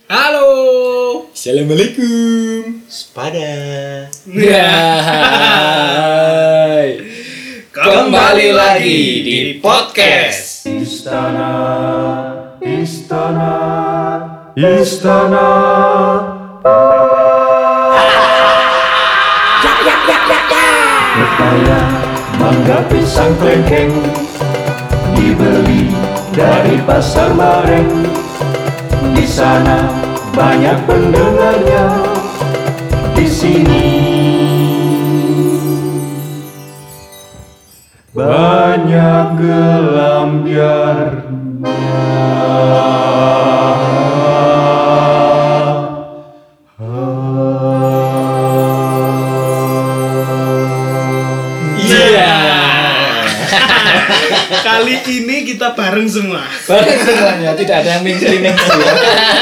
Halo. Assalamualaikum. Sepada. Hai. Kembali lagi di podcast Istana Pepaya, mangga, pisang, klengkeng dibeli dari pasar Bareng. Di sana banyak pendengarnya. Di sini banyak Kali ini kita bareng semua. Bareng semuanya, tidak ada yang minggu-minggu ya.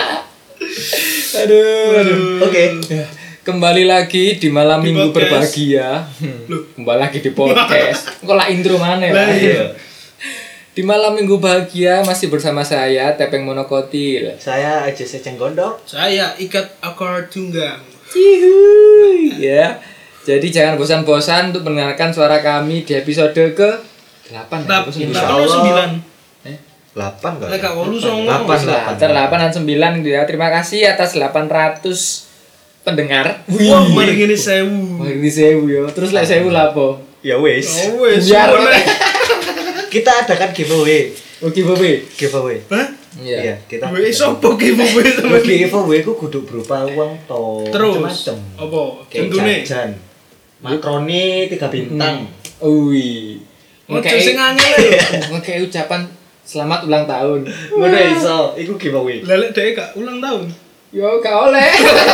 Aduh. Oke. Kembali lagi di malam Di minggu podcast. berbahagia. Kembali lagi di podcast. Kok lah intro mana ya? Lah, iya. Di malam minggu bahagia masih bersama saya Tepeng Monokotil. Saya aja seceng gondok. Saya ikat akar tunggang. Cihuy. Ya. Jadi jangan bosan-bosan untuk mendengarkan suara kami di episode ke 8 ya? Kita Allah. 9. 8 kan? Lek gak 8 songo. 8. 8 dan 9 ya. Terima kasih atas 800 pendengar. Wah, mari ngene 1000. Wah, ini 1000 ya. Terus lek 1000 lapo? Ya wis. Oh wes. Biar Kita adakan giveaway. Oke, Bobi. Giveaway. Hah? Iya, kita. Wes sopo ki bubu sama Giveaway ku kudu berupa uang to. Terus Macem-macem. apa? Kayak Contone. jajan. Makroni 3 bintang. Ui. Ojo sing angel ya. Ngekei ucapan selamat ulang tahun. Ngono iso, iku giveaway. Lah lek dhek gak ulang tahun. Yo, gak oleh.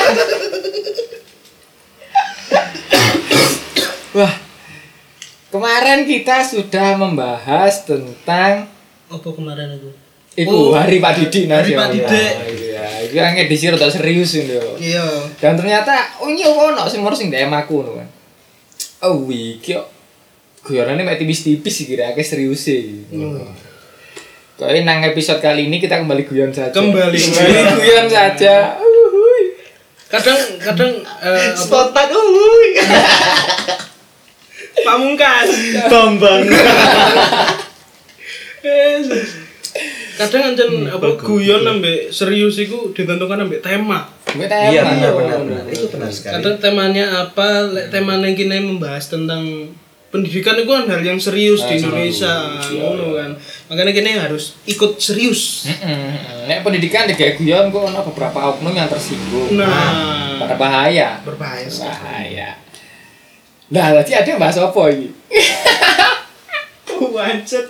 Wah. Kemarin kita sudah membahas tentang Apa kemarin itu? Iku Oh, Hari Pak Didik Hari Pak nasional. Didik. Iya, itu yang edisi rada serius itu. Iya. Dan ternyata oh iya ono sing moro sing DM aku ngono kan. Oh iki kok guyonane mek tipis-tipis iki kira akeh serius e. Kok nang episode kali ini kita kembali guyon saja. Kembali. guyon saja. Kadang apa? Spontan uhuy. Pamungkas. Bambang. Kadang ancen apa guyon ambek serius iku digantungkan ambek tema. Mek tema. Iya benar. Itu benar sekali. Kadang temanya apa, lek temanya kini membahas tentang pendidikan itu kan hal yang serius di Indonesia, ngono kan. Makanya kini harus ikut serius. Nek pendidikan digawe guyon kok ono beberapa oknum yang tersinggung. Nah, Pada bahaya. berbahaya sekali. Bahaya. Nah, tadi ada yang bahas apa iki? Wancet.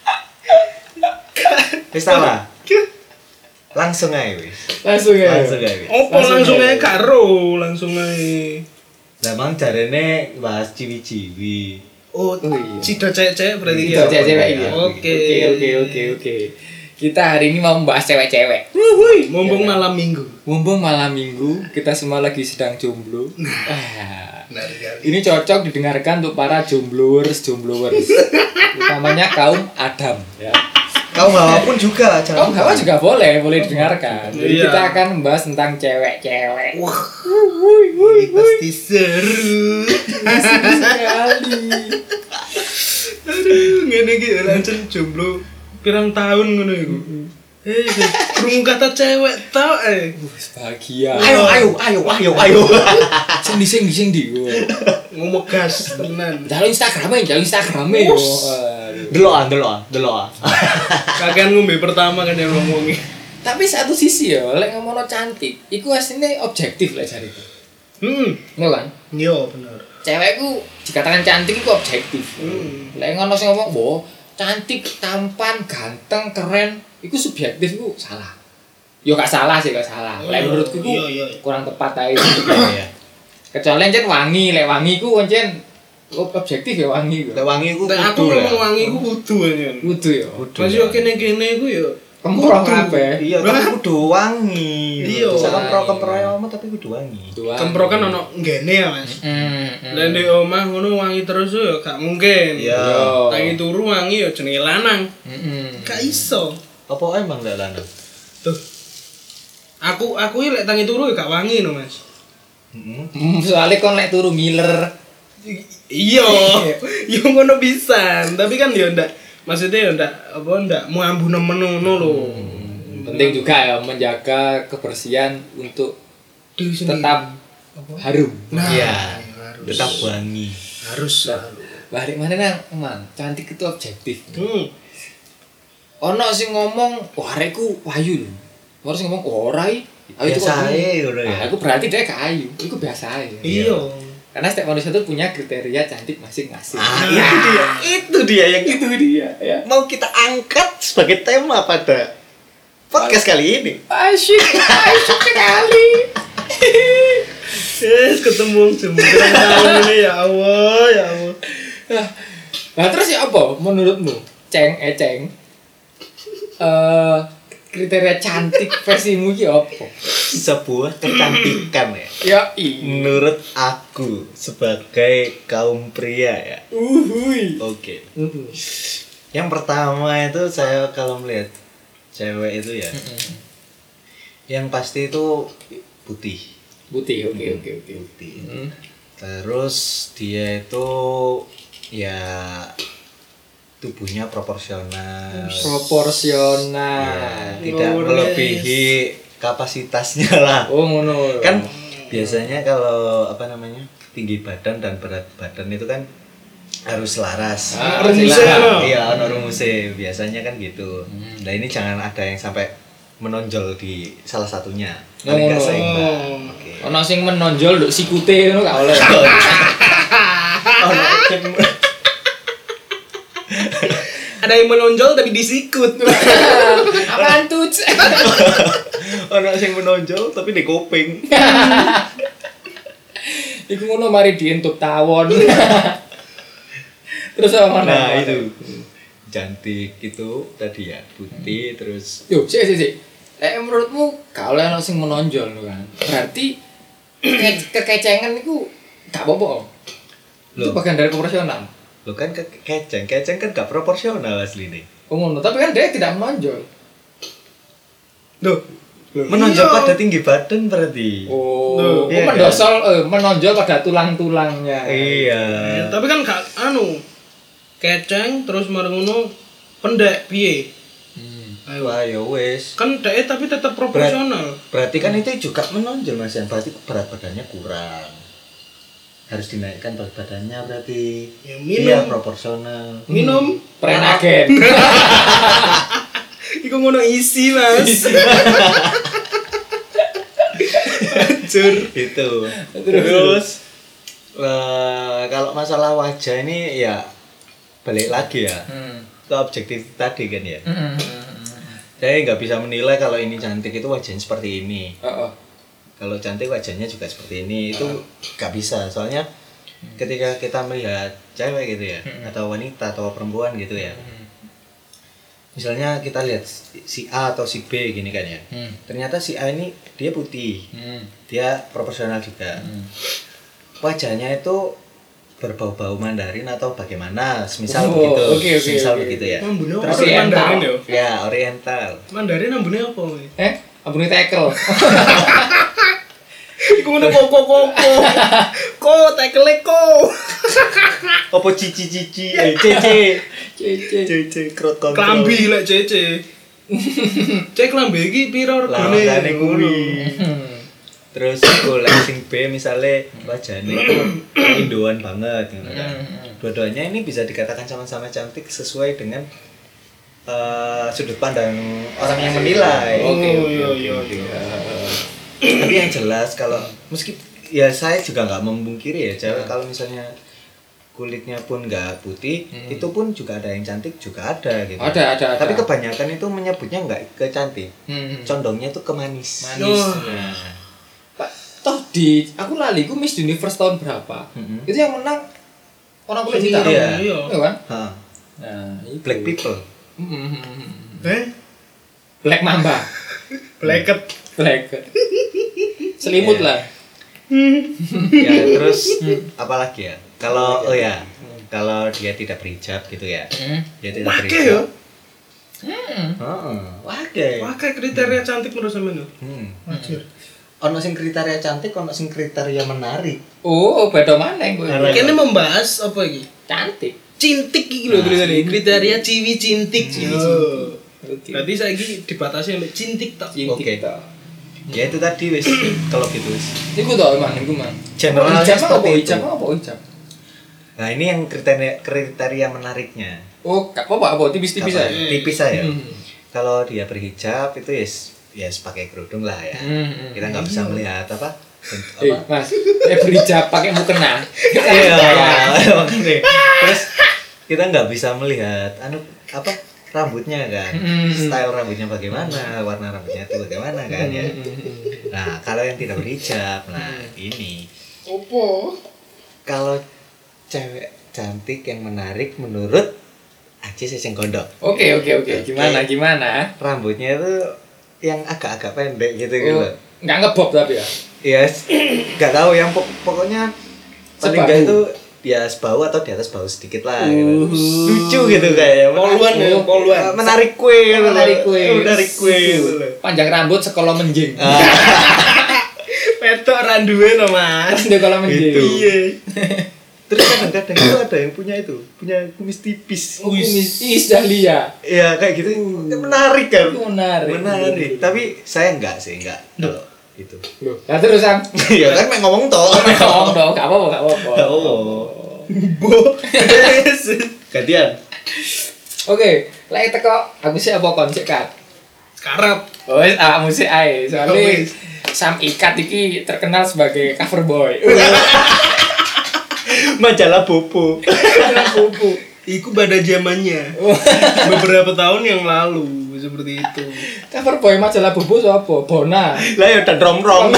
Wis ta lah. Langsung aja wis. Langsung ya. Langsung aja wis. Opo langsung aja karo, langsung aja. Lah mang jarene bahas ciwi-ciwi. Oh, iya. Cida cewek-cewek berarti Itu ya. cewek-cewek ya. Oke. Kita hari ini mau membahas cewek-cewek. Mumpung malam minggu. Mumpung malam minggu, kita semua lagi sedang jomblo. Benar sekali. Ini cocok didengarkan untuk para jombloers. Utamanya kaum Adam ya. Kaum Hawa pun juga, Kaum Hawa juga boleh didengarkan. Jadi Iya. kita akan membahas tentang cewek-cewek. Wah, ini pasti seru. Sekali. Aduh, ngene iki lancen jomblo pirang tahun ngono iku. Krungu kata cewek tau Bahagia. Ayo. Sing di. ngomong gas tenan. Jalur Instagramnya yo. Delokan. Kakean ngombe pertama kan yang ngomongi. Tapi satu sisi ya, lek ngomongno cantik, iku asline objektif lek jariku. Iya kan? Yo bener. Cewek ku dikatakan cantik iku objektif. Lek ngono sing ngomong, "Wo, cantik, tampan, ganteng, keren," iku subjektif iku salah. Yo gak salah sih, gak salah. Lek menurutku iku Iya. kurang tepat ae. Kecuali encen wangi, lek wangi ku encen objektif ya wangi ku. Lek wangi ku Nek aku ngomong wangi ku kudu aja. Kudu ya. Masih yo kene-kene ku yo Kemproh kabeh. Iya, tapi kudu wangi. Iya. Bisa kempro ya omah tapi kudu wangi. Kempro kan ono ngene ya, Mas. Lah ndek omah ngono wangi terus yo gak mungkin. Iya. Tangi turu wangi yo jenenge lanang. Heeh. Gak iso. Apa emang ndak lanang? Tuh. aku lek tangi turu gak wangi no, Mas. Soalnya kon lek turu ngiler. Iya. Yo ngono pisan, tapi kan yo ndak maksudnya yo ndak mau ambu nemen ngono lho. Penting juga ya menjaga kebersihan untuk Diri sendiri. tetap harum. Nah, Iya. harus. Tetap wangi. Harus. Balik mana nang, man, cantik itu objektif. Hmm. Ono sing ngomong, wah arekku wayu lho. Ono sing ngomong, ora iki. Ayo itu Biasa kok ae gini. ngono ya. Nah, aku berarti dia kayu. Itu biasa aja. Iya. Karena setiap manusia itu punya kriteria cantik masing-masing. Itu dia yang Itu dia ya. mau kita angkat sebagai tema pada podcast kali ini. Asyik sekali. Yes, ketemu jembreng tahun ini ya Allah, ya Allah. Nah, terus ya apa menurutmu? Ceng. Kriteria cantik versimu ki apa? Sebuah kecantikan ya. Ya Menurut aku sebagai kaum pria ya. uhuy. Oke. Yang pertama itu saya kalau melihat cewek itu ya, yang pasti itu putih. Putih, oke. Putih. Terus dia itu ya tubuhnya proporsional. Proporsional. Ya, tidak Luar melebihi kapasitasnya lah. Oh, ngono. Kan biasanya kalau apa namanya tinggi badan dan berat badan itu kan harus selaras. Rumusnya, no? Iya, ono rumusnya. Biasanya kan gitu. Nah ini jangan ada yang sampai menonjol di salah satunya. Paling nggak ngono. seimbang. Oke. Ono sing menonjol nduk sikute ngono gak oleh. Ono yang Ada yang menonjol tapi disikut. Apaan tuh? ono yang menonjol tapi di kuping. Iku ngono mari dientuk tawon. Terus apa mana? Nah itu cantik itu tadi ya putih terus Yo, sik. Menurutmu kalau ono sing menonjol lho kan. Berarti kekecengan iku gak apa-apa. Itu Loh. bagian dari proporsional. lo kan keceng kan gak proporsional asli nih. Oh ngono, tapi kan dia tidak menonjol. Loh, Menonjol iya. pada tinggi badan berarti. Oh, iya kan? menonjol pada tulang-tulangnya. Iya. Tapi kan gak keceng terus marang ngono pendek piye? Ayo. Wah ya wes. Kan dek tapi tetap proporsional. Berarti kan itu juga menonjol Mas Yan. Berarti berat badannya kurang. Harus dinaikkan berat badannya berarti. Ya, minum. Iya proporsional. Minum. Prenagen. Iku ngono isi, Mas. Hancur. Itu. Terus kalau masalah wajah ini ya balik lagi ya. Ke objektif tadi kan ya. Saya nggak bisa menilai kalau ini cantik itu wajahnya seperti ini. Kalau cantik wajahnya juga seperti ini itu nggak bisa. Soalnya ketika kita melihat cewek gitu ya, atau wanita atau perempuan gitu ya. Misalnya kita lihat si A atau si B gini kan ya. Ternyata si A ini dia putih, dia proporsional juga. Wajahnya itu berbau-bau Mandarin atau bagaimana, semisal begitu. Semisal begitu ya. Ambune Terus apa Mandarin yo? Ya oriental. Mandarin ambune apa? We? Abune tekel. Iku ngono kok. Ko tekele ko. Apa cici-cici, cece. Cece. Cece krot kontrol. Klambi lek cece. Cek klambi iki piro regane? Regane kuwi. Terus golek sing B misale wajahnya itu Indoan banget gitu kan. Dua-duanya ini bisa dikatakan sama-sama cantik sesuai dengan sudut pandang orang yang menilai. Oke. Tapi yang jelas kalau meski ya saya juga nggak memungkiri ya cewek kalau misalnya kulitnya pun nggak putih itu pun juga ada yang cantik juga ada gitu. Ada. Tapi kebanyakan itu menyebutnya nggak ke cantik, condongnya itu ke manis. Manis. Nah, Pak, toh di aku lali ku Miss Universe tahun berapa? Itu yang menang orang kulit hitam. Iya. Iya kan? ha, Nah, itu. black people. Black Mamba. Blacket. Black. Selimut lah. Ya terus apalagi ya? Kalau kalau dia tidak berhijab gitu ya, dia tidak Wake berhijab. Heeh. Waduh. Pakai kriteria cantik menurut sampean. Wajar. Ono sing kriteria cantik, ono sing kriteria menarik. Oh, beda maneh kowe. Kene membahas apa iki? Cantik. Cintik iki lho tulisane. Kriteria ciwi cintik. Oke. Berarti saiki dibatasi sampai cintik tok. Oke. Ya itu tadi wis kalau gitu wis. Iku to emang iku man. Generalnya Hijab seperti itu. apa hijab? Nah, ini yang kriteria menariknya. Oh, gak apa-apa, tipis-tipis Apa? aja. Tipis aja. Kalau dia berhijab itu ya pakai kerudung lah ya. Kita nggak bisa melihat apa. Mas, berhijab pakai mukena. Iya, makanya. Terus kita nggak bisa melihat apa rambutnya kan, style rambutnya bagaimana, warna rambutnya itu bagaimana kan ya. Nah, kalau yang tidak berhijab, nah ini. Opo? Kalau cewek cantik yang menarik menurut Aji Seseng Gondok. Oke. Gimana? Rambutnya itu yang agak-agak pendek gitu Oh, gitu. enggak ngebob tapi ya. Yes, nggak tahu yang pokoknya paling Sebahu. nggak itu dia sebahu atau di atas bahu sedikit lah gitu. Lucu gitu kayaknya. Poluan ya, poluan. Menarik kue gitu. Menarik kue. Menarik kue gitu. Panjang rambut sekolah menjing. Petok randuwe to, Mas. Dia kalau menjing. Gitu. Iya. Terus kadang-kadang itu ada yang punya kumis tipis. Is dahlia. Ya kayak gitu menarik kan. Menarik. Tapi saya enggak kalau itu. Loh, nah terus Sam. Ya kan main ngomong toh. Ngomong dong, gak apa-apa. Bo. Gantian. Oke, lek teko aku sih apa konsep kan? Sekarap. Oh, musik ae. Soalnya Wis. Sam Ikat iki terkenal sebagai cover boy. Majalah Bobo. Iku pada zamannya. Beberapa tahun yang lalu seperti itu. Cover boy majalah Bobo sapa? Bona. Lah ya udah rom-rom.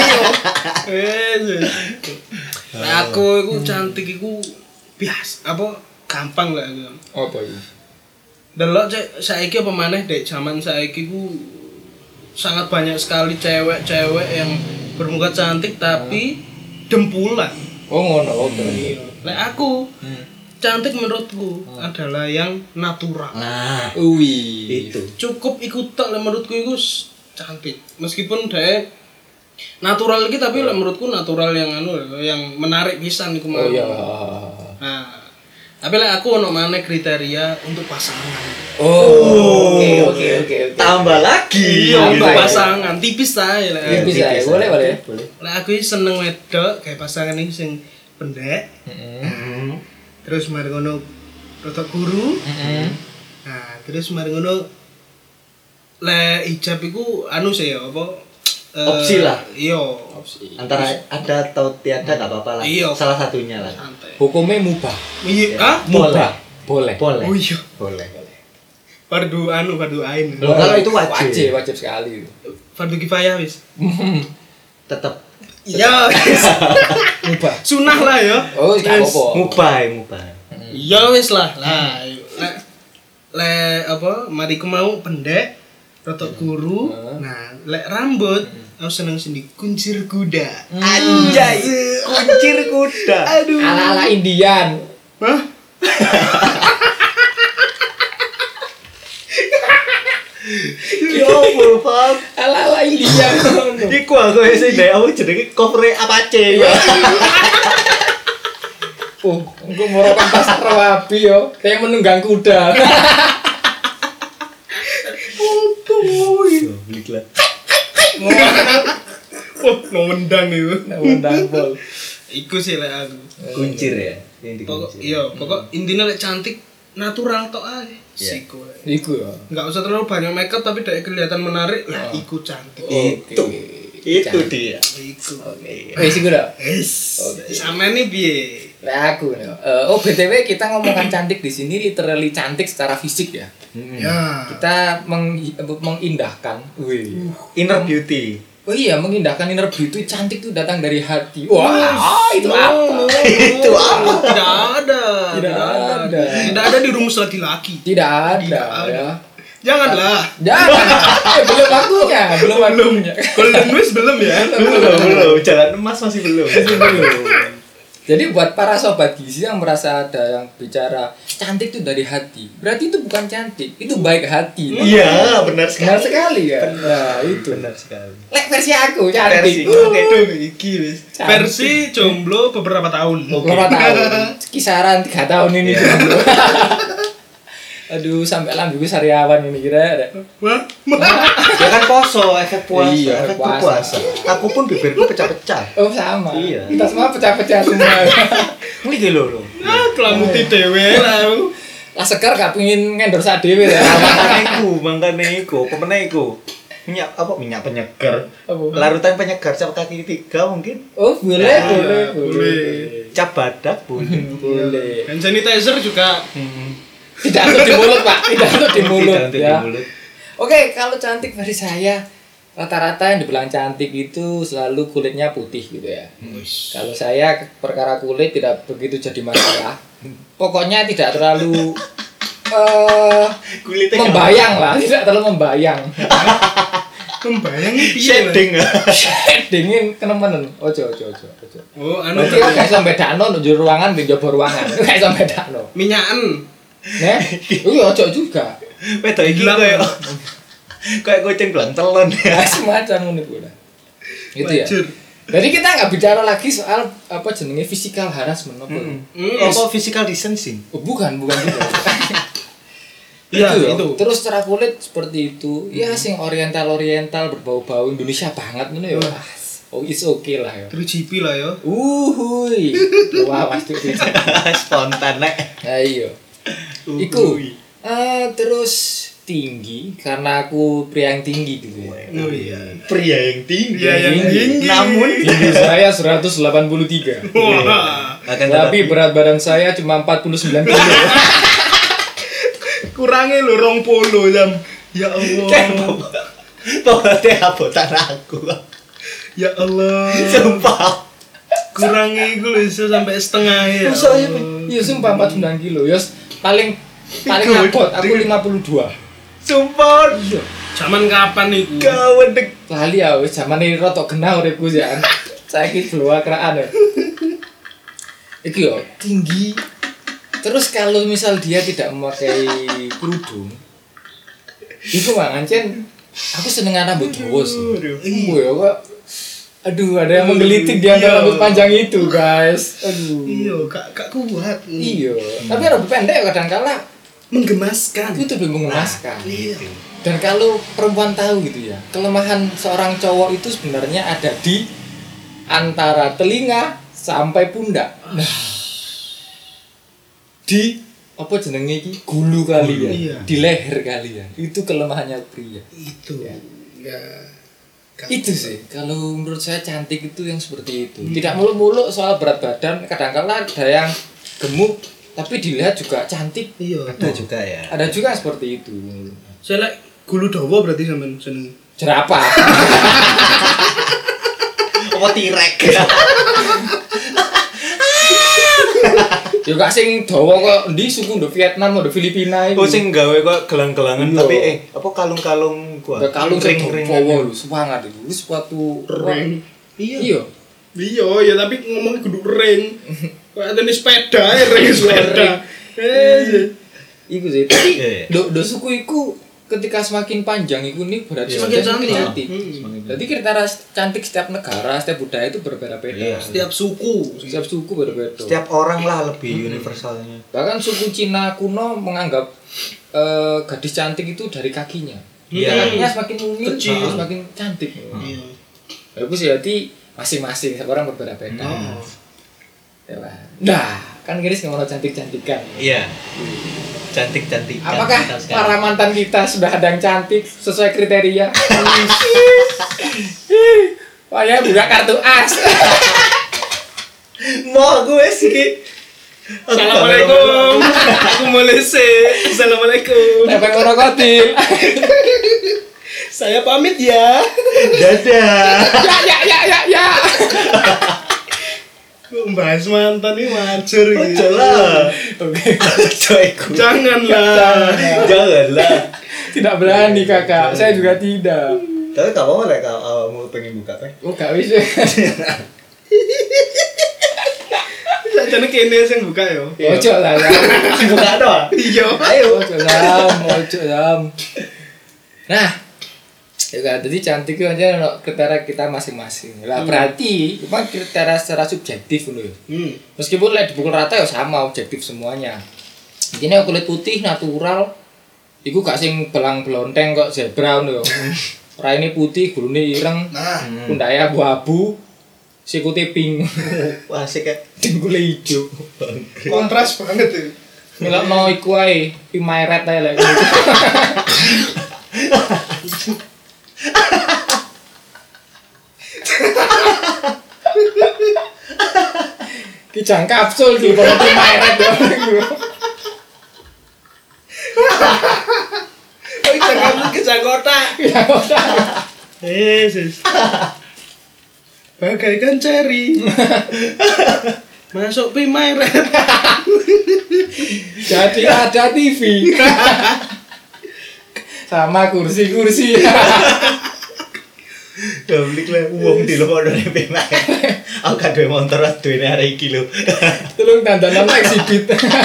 Nah, aku iku cantik iku biasa apa gampang lah aku. Apa iki? Delok cek saiki apa maneh dek zaman saiki ku sangat banyak sekali cewek-cewek yang bermuka cantik tapi dempulan. Oh ngono, oke. Lek aku cantik menurutku adalah yang natural. Nah, Wih. itu. Cukup ikut tok lek menurutku iku cantik. Meskipun dhek natural iki tapi lek menurutku natural yang yang menarik pisan iku mau. Oh iya. Nah, tapi lek aku ono maneh kriteria untuk pasangan. Oh. Oke. Tambah lagi. Iya, untuk Tambah ya? pasangan tipis ae lek. Tipis ae. Boleh. Lek aku iki seneng wedok kayak pasangan iki sing pendek. Terus mari ngono rada guru. Nah, terus mari ngono lek hijab iku anu sih ya apa? Opsi lah. Iya. Antara ada atau tiada enggak apa-apa lah. Iya. Salah satunya lah. Santai. Hukumnya mubah. Iya, ah? Boleh. Boleh. Oh iya. Boleh. Fardu ain. Loh, kalau itu wajib. Wajib sekali. Fardu kifayah wis. Tetap Iya. Mubah. Sunah lah ya. Oh, gak Wis. apa-apa. mubah. Iya wis lah. Lah, lek apa mari ku mau pendek rotok guru. Nah, lek rambut aku seneng sini kuncir kuda. Anjay. Kuncir kuda. Aduh. Ala-ala Indian. Hah? Yo, Pak. Ala-ala Indian. Iku aku sing ndek aku jenenge cover Apache. Oh, engko morokan pasar rawabi yo, kayak menunggang kuda. Bliklah. Oh, ngomendang itu. Undang pol. Iku sih lek aku. Kuncir ya. Yang Pokok dikuncir. iya, pokok intinya lek cantik natural tok ae. Siku. Iku ya. Enggak usah terlalu banyak makeup tapi dari kelihatan menarik. Lah, iku cantik. Itu. Itu dia. Iku. Wis iku dah. Yes. Sama nih piye? Lah aku nih. Oh BTW kita ngomongkan cantik di sini literally cantik secara fisik ya. Ya. Kita mengindahkan. Wih. Inner beauty. Oh iya, mengindahkan inner beauty cantik itu datang dari hati. Wah, itu apa? Itu apa? Tidak ada. Tidak ada. Tidak ada di rumus laki-laki. Tidak ada Tidak ada. ya. Janganlah. Jangan. Belum waktunya, belum waktunya. Golden Wish belum ya? Belum. Jalan emas masih belum. Belum. Jadi buat para sobat gizi yang merasa ada yang bicara cantik itu dari hati, berarti itu bukan cantik, itu baik hati. Iya, benar sekali. Benar sekali ya. Nah, itu. Benar sekali. Lek versi aku cantik. Versi kayak iki wis. Versi jomblo beberapa tahun. Berapa tahun? Kisaran 3 tahun ini jomblo. Aduh, sampai lambungku sariawan ini kira. Wah, Ya kan poso, efek puasa, Iya, efek puasa. puasa. Aku pun bibirku pecah-pecah. Oh, sama. Iya. Kita semua pecah-pecah semua. Iki lho. ah, kelamuti dewe lah. Lah segar gak pengin ngendorse dhewe ya. Mangkane iku, apa meneh iku? Minyak penyegar. Apa? Larutan penyegar cap kaki 3 mungkin. Oh, boleh, Nah, boleh, boleh. boleh. Cap badak boleh. Boleh. Hand sanitizer juga. Tidak untuk di mulut, Pak. Tidak untuk di mulut Tidak untuk di ya. mulut. Oke, kalau cantik versi saya rata-rata yang dibilang cantik itu selalu kulitnya putih gitu ya. Kalau saya perkara kulit tidak begitu jadi masalah. Pokoknya tidak terlalu Kulitnya membayang lah, tidak terlalu membayang. Membayang piye? shading. Shadingin kenemenen. Ojo. Oh, anu Berarti kan gak iso bedakno nang jero ruangan ben njaba ruangan. Gak iso bedakno. minyakan. Nah, iya ojo juga. Wedok iki Gelap. kayak kucing belantelon ya. Nah, semacam ngono kuwi lah. Gitu ya. Wajur. Jadi kita nggak bicara lagi soal apa jenenge physical harassment apa. Apa physical distancing? Oh, bukan juga. Iya, itu. itu. Terus secara kulit seperti itu. Ya sing oriental berbau-bau Indonesia banget ngono ya. Oh, it's okay lah ya. Terus GP lah ya. Uhuy. Wah, pasti itu. Spontan nek. Ya iya. Iku. Terus tinggi karena aku pria yang tinggi gitu ya. Oh iya. Pria yang tinggi. Pria yang tinggi. Namun Tinggi saya 183. Wah. akan Tapi berat badan saya cuma 49 kilo. Kurangnya lo 20 jam. Ya Allah. Pokoknya abotan aku. Ya Allah. Sumpah. Kurangnya itu lho iso sampai setengah ya. Masa ya, Iya sumpah 49 kilo. Yos paling Iku, ngapot aku 52. Sumpah. Zaman kapan iku? Kawan dek. Lali ya wis zamane rotok genah uripku ya. Saiki bloa keraan ya. Iki yo tinggi. Terus kalau misal dia tidak memakai kerudung, itu ngancen aku seneng rambut dawa sih. Iya kok. Aduh, ada yang menggelitik di antara rambut panjang itu, guys. Aduh. Iya, gak kuat. Iya. Tapi rambut pendek kadang kala Menggemaskan. itu lebih mengemaskan. Iya. Dan kalau perempuan tahu gitu ya, kelemahan seorang cowok itu sebenarnya ada di antara telinga sampai pundak. Nah, di apa jenenge iki? Gulu kalian, Iya. di leher kalian. Itu kelemahannya pria. Itu. Ya. Ya. Itu sih, kalau menurut saya cantik itu yang seperti itu. Tidak muluk-muluk soal berat badan, kadang-kala ada yang gemuk tapi dilihat juga cantik. Iya. Ada juga ya. Ada juga seperti itu. Saya like gulu dawa berarti sampean seneng. Jerapah. Apa tirek? Ya gak sing dawa kok endi suku ndo Vietnam ndo Filipina itu. Oh sing gawe kok gelang-gelangan Iya. tapi apa kalung-kalung gua. Ada kalung sing ring-ring. dawa lho, semangat itu. Wis suatu Ring. Iya. Iya, ya tapi ngomongnya kudu ring. Kayak ada sepeda, ring sepeda. Iku sih. Tapi Iya. do suku iku ketika semakin panjang iku nih berarti Semakin semakin cantik. cantik. Jadi kriteria cantik setiap negara, setiap budaya itu berbeda-beda. Iya. Setiap suku. Setiap suku berbeda. Setiap orang lah lebih universalnya. Bahkan suku Cina kuno menganggap gadis cantik itu dari kakinya. Iya. Kakinya semakin mungil, Kecil. semakin cantik. Iya. Bagus ya, jadi masing-masing orang berbeda-beda. Oh. Ya lah. Nah, kan Giris ngomong cantik-cantikan. Iya. Cantik-cantik. Apakah para mantan kita sudah ada yang cantik sesuai kriteria? Wah ya buka kartu as. Mau gue sih. Assalamualaikum. Aku mulai sih. Assalamualaikum. Apa yang ngerokotin? Saya pamit ya. Dadah. Ya. Membahas mantan ini wajur gitu. Janganlah. Oke. Coyku. Janganlah. Janganlah. Tidak berani kakak, saya juga tidak. Tapi gak apa-apa lah kalau mau pengen buka teh. Oh gak bisa. Jane kene sing buka yo. Ojo lah. Buka doang. Iya. Ayo. Ojo Sam. Nah, ya kan, jadi cantik itu aja kriteria kita masing-masing. Lah berarti memang kriteria secara subjektif loh. Meskipun lihat dipukul rata ya sama objektif semuanya. Ini kulit putih natural, iku gak sing belang-belonteng kok zebra ngono yo. Raine putih, gulune ireng, pundake abu-abu, sikute pink. Wah, asik ya. Dengkule ijo. Kontras banget itu. Milakno iku ae, pimayret ae lek. Ki jang kapsul ki pokoke pimayret yo. Oh, jangan kejar kotak. Ya ora. Yesus. Bagaikan ceri. Masuk pimayret. Jadi ada TV. Sama kursi-kursi. Doblik lah wong di luar dari pemak. Aku kan duwe motor duwe hari iki lho. Tulung dandanan exhibit.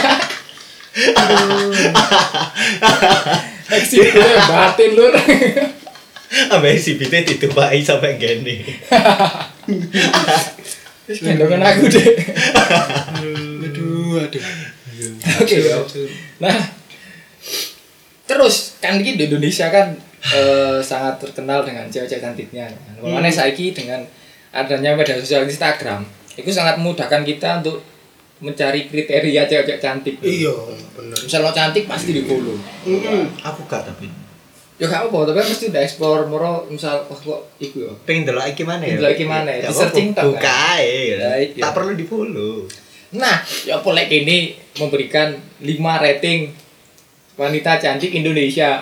Exhibit batin lur. Ambe si bite ditumpaki sampai gene. Wis gendongan aku deh. Aduh. Oke. Nah, terus kan di Indonesia kan sangat terkenal dengan cewek-cewek cantiknya. Makanya saiki dengan adanya media sosial Instagram, itu sangat memudahkan kita untuk mencari kriteria cewek-cewek cantik. Iya, bener. Misal lo cantik pasti di-follow. Aku gak tapi. Ya gak apa, tapi mesti udah explore moro misal wah kok iku ya. Pengen delok iki mana ya? Delok iki mana ya? Ya, Di searching tok. buka ae. Ya, iya. Tak perlu di-follow. Nah, ya apa lek ini memberikan 5 rating wanita cantik Indonesia.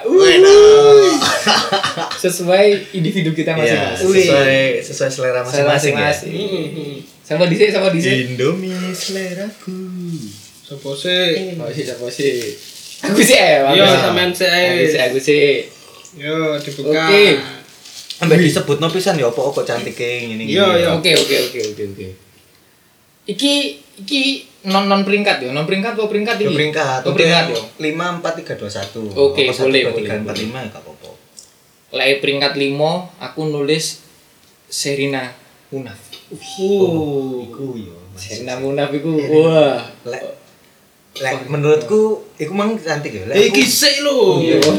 Sesuai individu kita Ya, masing-masing. sesuai selera masing-masing ya. Sama dhisik. Indomie seleraku. Sopo sih? Oh, siapa sih? Aku sih Iya, sampean sih. Aku sih. Yo, dibuka. Oke. Ambek disebutno pisan ya apa kok cantike ngene iki. Iya. Oke. Iki non peringkat ya. Non peringkat apa peringkat ini? Peringkat. Oh, peringkat ya. 5 4 3 2 1. Oke, boleh. 3 4 5 enggak apa-apa. Lek peringkat 5 aku nulis Sherina Munaf. Iku yo. Sherina Munaf iku wah. Lek menurutku iku mang cantik ya. Iki sik lho.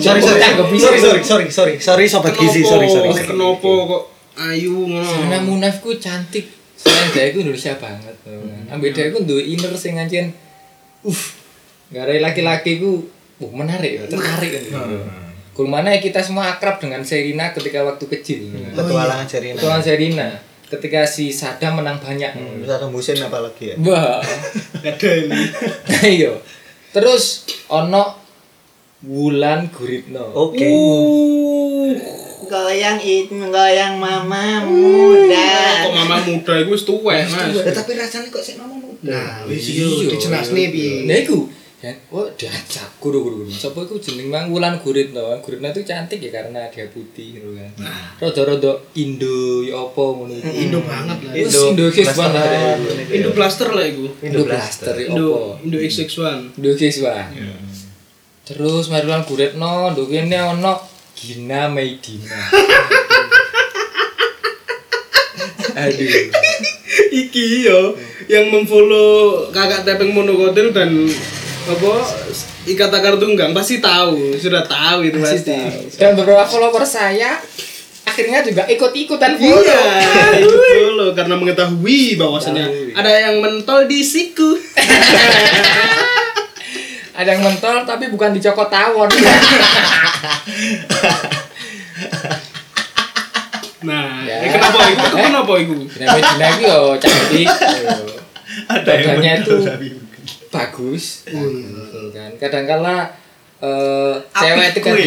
Sorry sobat gizi, sorry. Kenapa kok ayu ngono? Sherina Munaf ku cantik. Selain dia ku Indonesia banget. Ambek dia ku duwe inner sing ngancen gare laki-laki ku menarik ya, tertarik kan. Kumana kita semua akrab dengan Sherina ketika waktu kecil. Petualangan Sherina. Ketika si Sadam menang banyak. Sadam Hussein apalagi ya. Wah. Ada ini. Iya. Terus ono Wulan Guritno. Oke. Goyang mama muda. Kok mama muda iku wis tuwek, Mas. Tapi rasanya kok sik mama muda. Nah, wis yo dijelasne piye. Nah iku kan diajak guru-guru. Sapa iku jeneng Mang Wulan Guritno. Guritno itu cantik ya karena dia putih gitu kan. Rada-rada Indo ya apa ngono iku. Indo banget lah. Indo X1. Indo blaster lah iku. Indo blaster ya apa? Indo X1. Indo X1. Terus Mang Wulan Guritno nduk kene ono Gina Maidina. Aduh. Iki yo yang memfollow Kakak Tepeng Monokotil dan apa Ikatan Tunggang pasti tahu, sudah tahu itu pasti. Dan beberapa follower saya akhirnya juga ikut-ikutan follow. Iya, ikut follow karena mengetahui bahwasanya ada yang mentol di siku. Ada yang mentol tapi bukan dicokot tawon. Nah, Ya. kenapa itu? Dina iki yo cantik. Ada yang Badannya betul itu tapi bagus. Kan kadang-kala cewek itu kan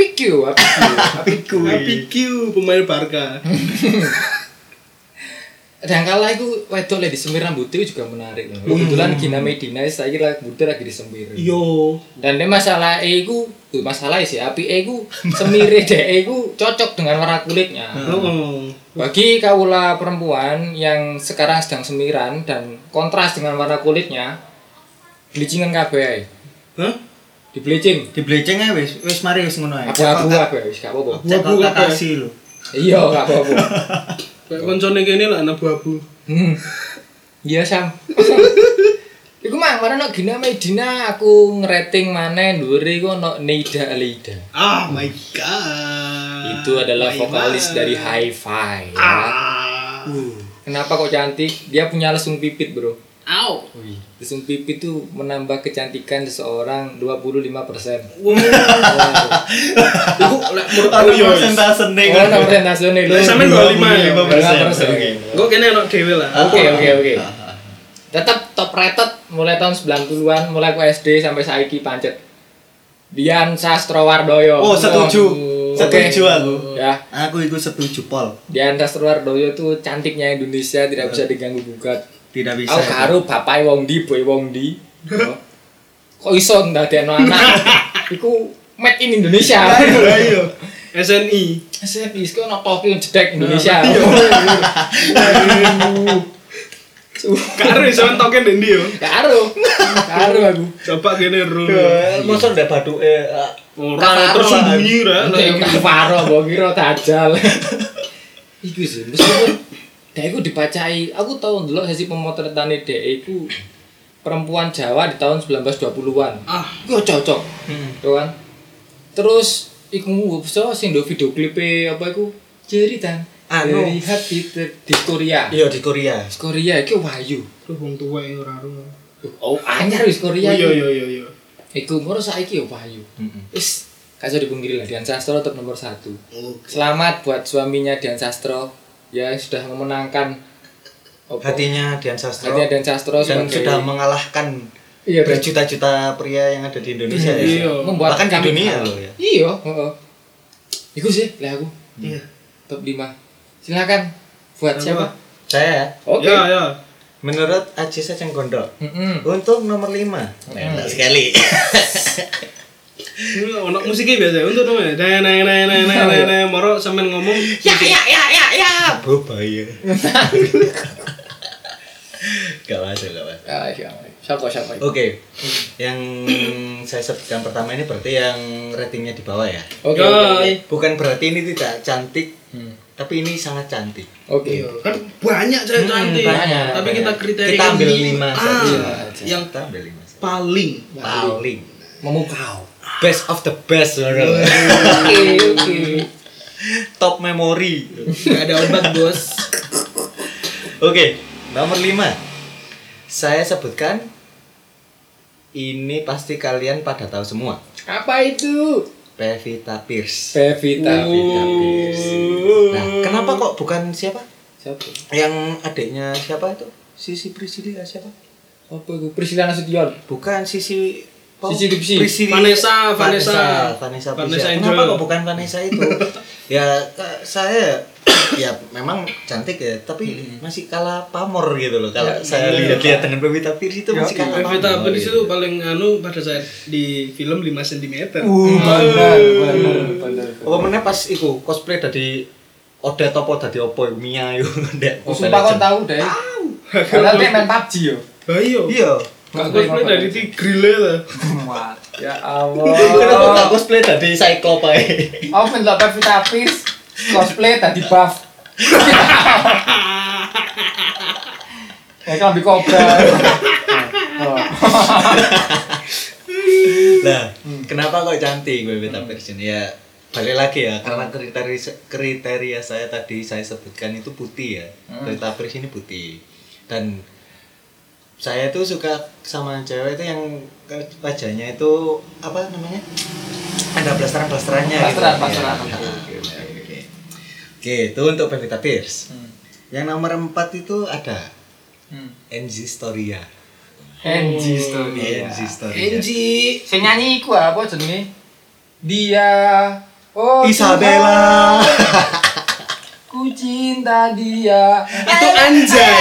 Apiku pemain Barca. Dan kala iku wedok lek disemir rambutnya juga menarik. Kebetulan Gina Medina saiki rambutnya lagi disemir. Yo. Dan ini masalah iku, masalah sih apike iku semire dhek iku cocok dengan warna kulitnya. Bagi kaula perempuan yang sekarang sedang semiran dan kontras dengan warna kulitnya, bleachingan kabeh ae. Hah? Di bleaching. Di bleaching ae wis mari wis ngono ae. Abu-abu kabeh wis gak apa-apa. Abu-abu kabeh. Kasih lho. Iya, gak apa-apa. Kayak koncone kene lah abu-abu. Iya, Sam. Iku mah kemarin Gina Medina aku ngerating maneh dhuwure iku ono Neida Alida. Oh my god. Itu adalah vokalis dari Hi-Fi ya. Kenapa kok cantik? Dia punya lesung pipit, Bro. Au. Lesung pipit itu menambah kecantikan seseorang 25%. Wow. Iku lek menurut aku yo persentase ning. Oh, persentase nih. Sampe 25 ya. 25%. Kok kene ono dhewe lah. Oke. Tetap top rated mulai tahun 90-an, mulai aku SD sampai saiki pancet. Dian Sastrowardoyo. Oh, setuju. Oke. Setuju aku. Ya. Aku itu setuju, Pol. Dian Sastrowardoyo tuh cantiknya Indonesia, tidak bisa diganggu gugat. Tidak bisa. Aku karo bapak wong ndi, boy wong ndi. Kok iso ndadekno anak? Iku made in Indonesia. Ayo. SNI. SNI iku ono topi jedek Indonesia. Karo iso token ndi yo. Karo aku. Coba kene ro. Mosok ndak baduke ora terus sembunyi ra. Karo mbok kira dajal. Iku sih, meskipun dhek iku dipacai, aku tau ndelok sesi pemotretane dhek iku perempuan Jawa di tahun 1920-an. Iku cocok. Tuh kan. Terus iku sing do video klipe apa iku? Jeritan. Dari hati di Korea. Iya di Korea. Korea iki Wahyu. Terus wong tuwa ora ro. Oh, anyar wis Korea. Iya. Iku moro saiki yo Wahyu. Wis gak iso dipungkiri lah Dian Sastro tetap nomor 1. Selamat buat suaminya Dian Sastro ya sudah memenangkan hatinya Dian Sastro. Hatinya Dian Sastro dan sudah mengalahkan berjuta-juta pria yang ada di Indonesia ya. Iya. Bahkan di dunia loh ya. Iya, heeh. Iku sih lah aku. Iya. Top 5. Silakan buat siapa? Saya. Oke. Ya. Menurut Aji Secenggondo. Untuk nomor 5. Enak sekali. Ini ono musiknya biasa untuk namanya. Nah, moro sampean ngomong Ya. Bahaya. Gak masuk. Siapa? Oke. Yang saya sebutkan pertama ini berarti yang ratingnya di bawah ya. Oke. Bukan berarti ini tidak cantik. Tapi ini sangat cantik. Oke. Kan banyak cewek cantik. Banyak. Tapi kita kriteria Kita ambil 5 saja. Yang kita ambil 5 saja. paling Memukau. Best of the best. Oke. Top memory. Gak ada obat, Bos. Oke, nomor 5. Saya sebutkan ini pasti kalian pada tahu semua. Apa itu? Pevita Pierce. Pevita Pierce. Nah, kenapa kok bukan siapa? Siapa? Yang adiknya siapa itu? Sisi Priscilla siapa? Apa itu? Priscilla Nasution. Bukan Sisi Vanessa Kenapa kok bukan Vanessa itu? Ya saya ya memang cantik ya, tapi masih kalah pamor gitu loh. Kalau saya lihat dengan Pevita Pierce itu masih kalah pamor. Pevita Pierce itu paling pada saat di film 5 cm. Benar. Apa meneh pas iku cosplay dadi Odet apa dadi opo Mia yo ndek. Sumpah kon tahu deh. Padahal dia main PUBG yo. Iya. Gak cosplay dari Tigrile lah. Ya Allah. Kenapa gak cosplay dadi Cyclops ae? Aku pendelok Pevita Pierce cosplay tadi buff. Ya kan di kobra. Lah, kenapa kok cantik Pevita Pierce ini? Ya balik lagi ya, karena kriteria saya tadi saya sebutkan itu putih ya. Pevita Pierce ini putih. Dan saya tuh suka sama cewek itu yang wajahnya itu apa namanya? Ada blasteran-blasterannya gitu. Blasteran. Oke, itu untuk Pevita Pierce. Yang nomor 4 itu ada NG Storia. NG Storia. Sing nyanyi iku apa jenenge? Dia Isabella. Ku cinta dia. Itu anjay.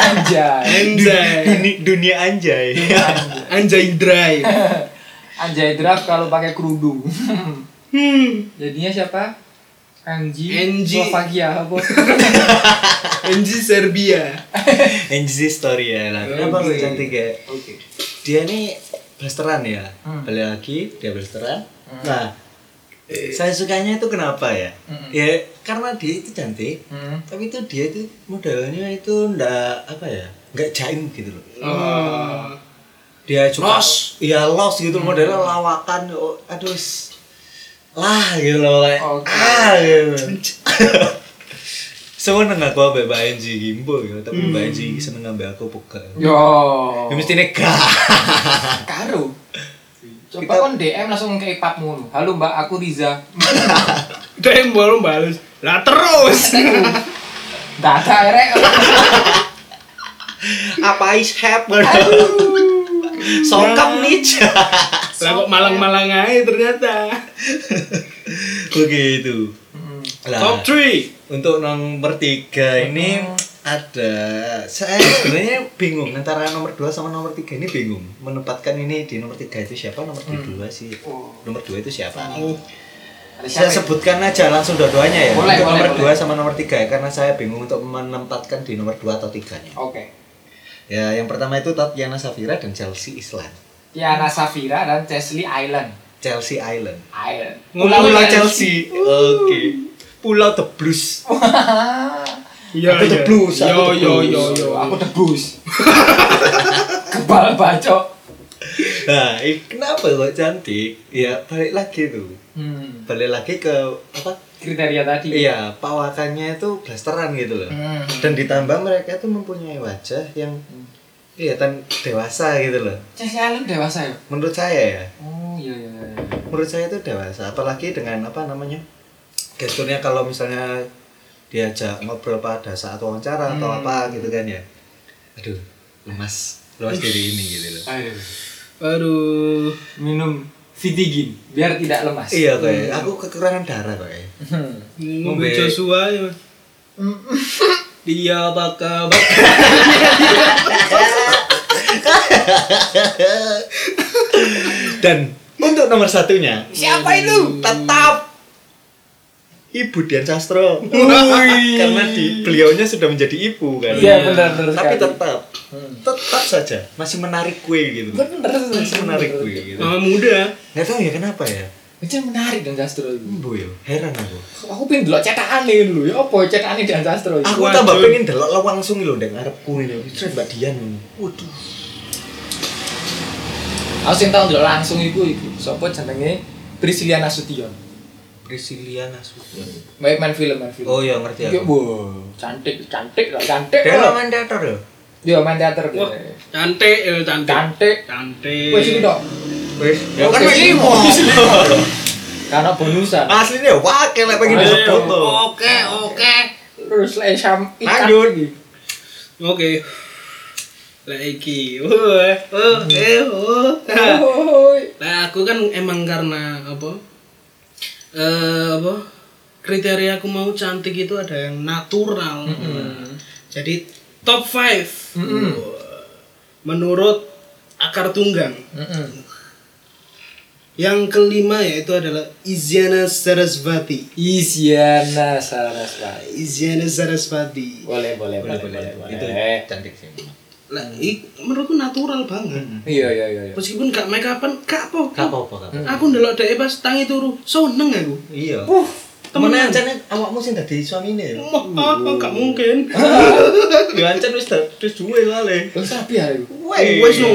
Dunia anjay. Anjay dry. Anjay draft kalau pakai kerudung. Jadinya siapa? Anji. Slovakia apa? Anji Serbia. Anjay story ya lah. Kenapa lu cantik ya? Oke. Dia nih blasteran ya. Balik lagi dia blasteran. Nah, saya sukanya itu kenapa ya? Ya karena dia itu cantik. Tapi itu dia itu modelnya itu ndak apa ya? Nggak jaim gitu loh. Dia juga iya los gitu modelnya lawakan. Aduh. Lah gitu loh kayak. Gitu. Seneng aku ambek Mbak Enji gimbo ya, tapi Mbak Enji seneng ambek aku pokok. Yo. Ya mesti gak. Karo. Coba kon DM langsung ke ipap ngono. Halo Mbak, aku Riza. DM baru balas. Lah terus. Data erek. Apa is happen? Sokap nih. Lah kok malang-malang aja ternyata. Begitu. Top 3. Untuk nomor 3 ini ada saya sebenarnya bingung antara nomor 2 sama nomor 3 ini bingung menempatkan ini di nomor 3 itu siapa, nomor 2 sih. Nomor 2 itu siapa? Saya sebutkan aja langsung dua-duanya ya. Boleh, untuk boleh, nomor boleh. 2 sama nomor 3 ya, karena saya bingung untuk menempatkan di nomor 2 atau 3-nya. Oke. Ya, yang pertama itu Tatiana Safira dan Chelsea Island. Tiana Safira dan Chelsea Island. Chelsea Island. Pulau Chelsea. Oke. Pulau The Blues. Iya, Aku The Blues. Yo. Aku tebus. Kepala bacok. Nah, kenapa kok cantik? Ya balik lagi tuh. Balik lagi ke apa? Kriteria tadi. Iya, pawakannya itu blasteran gitu loh. Dan ditambah mereka itu mempunyai wajah yang kelihatan dewasa gitu loh. Chelsea Island dewasa ya? Menurut saya ya. Oh iya. Menurut saya itu dewasa, apalagi dengan apa namanya? Gesturnya kalau misalnya diajak ngobrol pada saat wawancara atau apa gitu kan ya. Aduh, lemas diri ini gitu loh. Aduh. Minum Vitigin biar tidak lemas. Iya kayak aku kekurangan darah kayak. Ngombe Joshua ya. Mas. Dia bakal Dan untuk nomor satunya Siapa itu? tetap Ibu Dian Sastro. Karena beliaunya sudah menjadi ibu kan. Iya benar Tapi sekali. tetap saja masih menarik kue gitu. Bener Masih menarik kue gitu. mama muda. Nggak tahu ya kenapa ya. Itu menarik dan Castro itu. Bu yo, heran aku. Aku pengen delok cetakane dulu ya apa cetakane dan Castro itu. Aku tambah pengen delok langsung lho ndek ngarepku ini. Bisa Mbak Dian. Waduh. Aku sing tau delok langsung iku. Sopo jenenge? Priscilla Nasution. Priscilla Nasution. Main film. Oh iya ngerti Iya, aku. wow, cantik. Dia loh. main teater ya? Dia main teater dia. Wah, cantik. Cantik. Wes iki tok. Wis. Ya kan Oke. mek limo. Karena bonusan. Aslinya wakil lek pengen disebut tuh. Oke. Terus lek sam ikan Lanjut. iki. Oke. Lah iki. Nah, aku kan emang karena apa? Kriteria aku mau cantik itu ada yang natural. Jadi top 5. Menurut Akar Tunggang. Yang kelima yaitu adalah Isyana Sarasvati. Isyana Sarasvati. Boleh. Itu cantik sih. Lah, menurutku natural banget. Iya. Meskipun gak make upan, gak apa-apa. Gak apa-apa. Aku ndelok dhek pas tangi turu, seneng aku. Iya. Temenan. Temenan ancane awakmu sing dadi suamine ya. Gak mungkin. Ya ancen wis duwe soalé. Terus sapi ya iku. Wes no.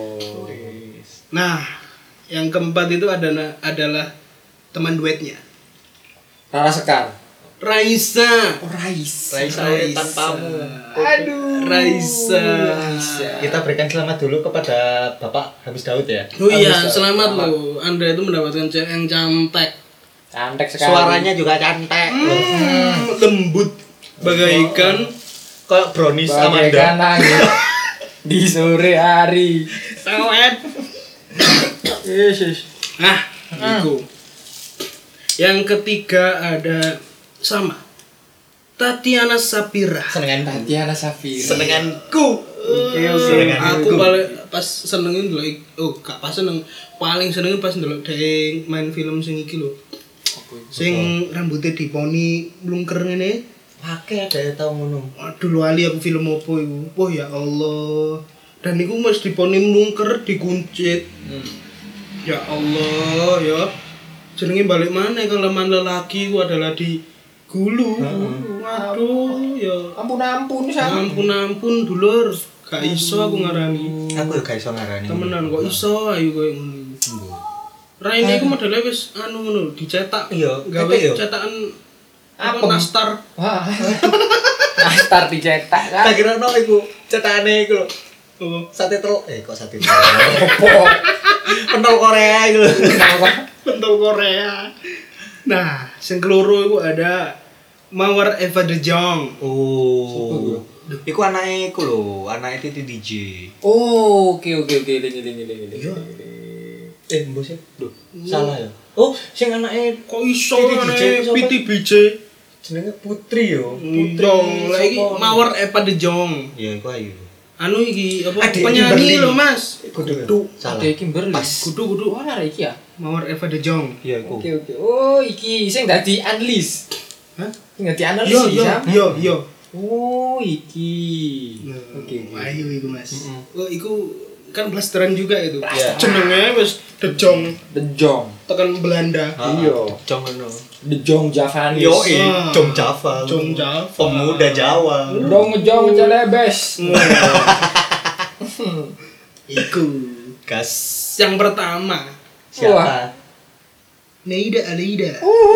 Nah, yang keempat itu adalah teman duetnya. Rara Sekar. Raisa. Raisa tanpamu. Aduh. Raisa. Kita berikan selamat dulu kepada Bapak Hamis Daud ya. Oh iya, selamat loh. Anda itu mendapatkan cewek yang cantik. Cantik sekali. Suaranya juga cantik. Lembut bagaikan Kayak brownies bagaikan Amanda. angin di sore hari. sawet. Yesus. Nah, itu. Yang ketiga ada sama Tatiana Sapira. Senengan Tatiana Safira. senenganku. Aku paling pas senengin ndelok gak pas seneng. Paling senengin pas ndelok dhek main film sing iki lho. Sing rambutnya diponi mlungker ngene. Pakai ada yang tahu ngono. Aduh lali aku film opo iku. Wah ya Allah. Dan iku mesti diponi mlungker dikuncit. Ya Allah ya. Jenenge balik mana kelemahan lelaki ku adalah di gulu. Waduh ya. Ampun Ampun dulur. Gak iso aku ngarani. Aku gak iso ngarani. Temenan kok iso ayo koyo ngono. Raine iku modele wis anu ngono dicetak. Iya, gawe iya. cetakan apa Apa? nastar. Wah. Nastar dicetak kan. Tak kira no iku cetakane iku lho. Oh, Sate telur. Kok sate telur? Opo? Pentol Korea iku lho. pentol Korea. Nah, sing keloro iku ada Mawar Eva De Jong. Oh. Iku anake iku lho, anake Titi DJ. Oh, oke lingi. Iya. Mbok sih. Duh, salah ya. Oh, sing anake Kok iso Titi DJ ane siapa? Piti BJ? jenenge Putri yo. Putri. Lagi Mawar Eva De Jong. Ya iku ayu. Anu iki apa Adik penyanyi Kimberly. lho, Mas. Kudu. Salah. Ada Kimberly. Pas. Kudu. Wah, ada iki ya. Mawar Eva De Jong. Iya iku. Oke. Oh, iki sing dadi analis. Hah? Sing dadi analis ya. Yo. Oh, iki. Oke, ayo iku Mas. Oh, iku kan blasteran juga itu. Iya. Jenenge wis De Jong The Jong. tekan Belanda. Iya. Jong ngono. The Jong Javanis. Yo, Ah. Jong Java. Jong Java. Pemuda Jawa. Dong Jong celebes. Iku. Gas. Yang pertama, Siapa? Neida Aleida.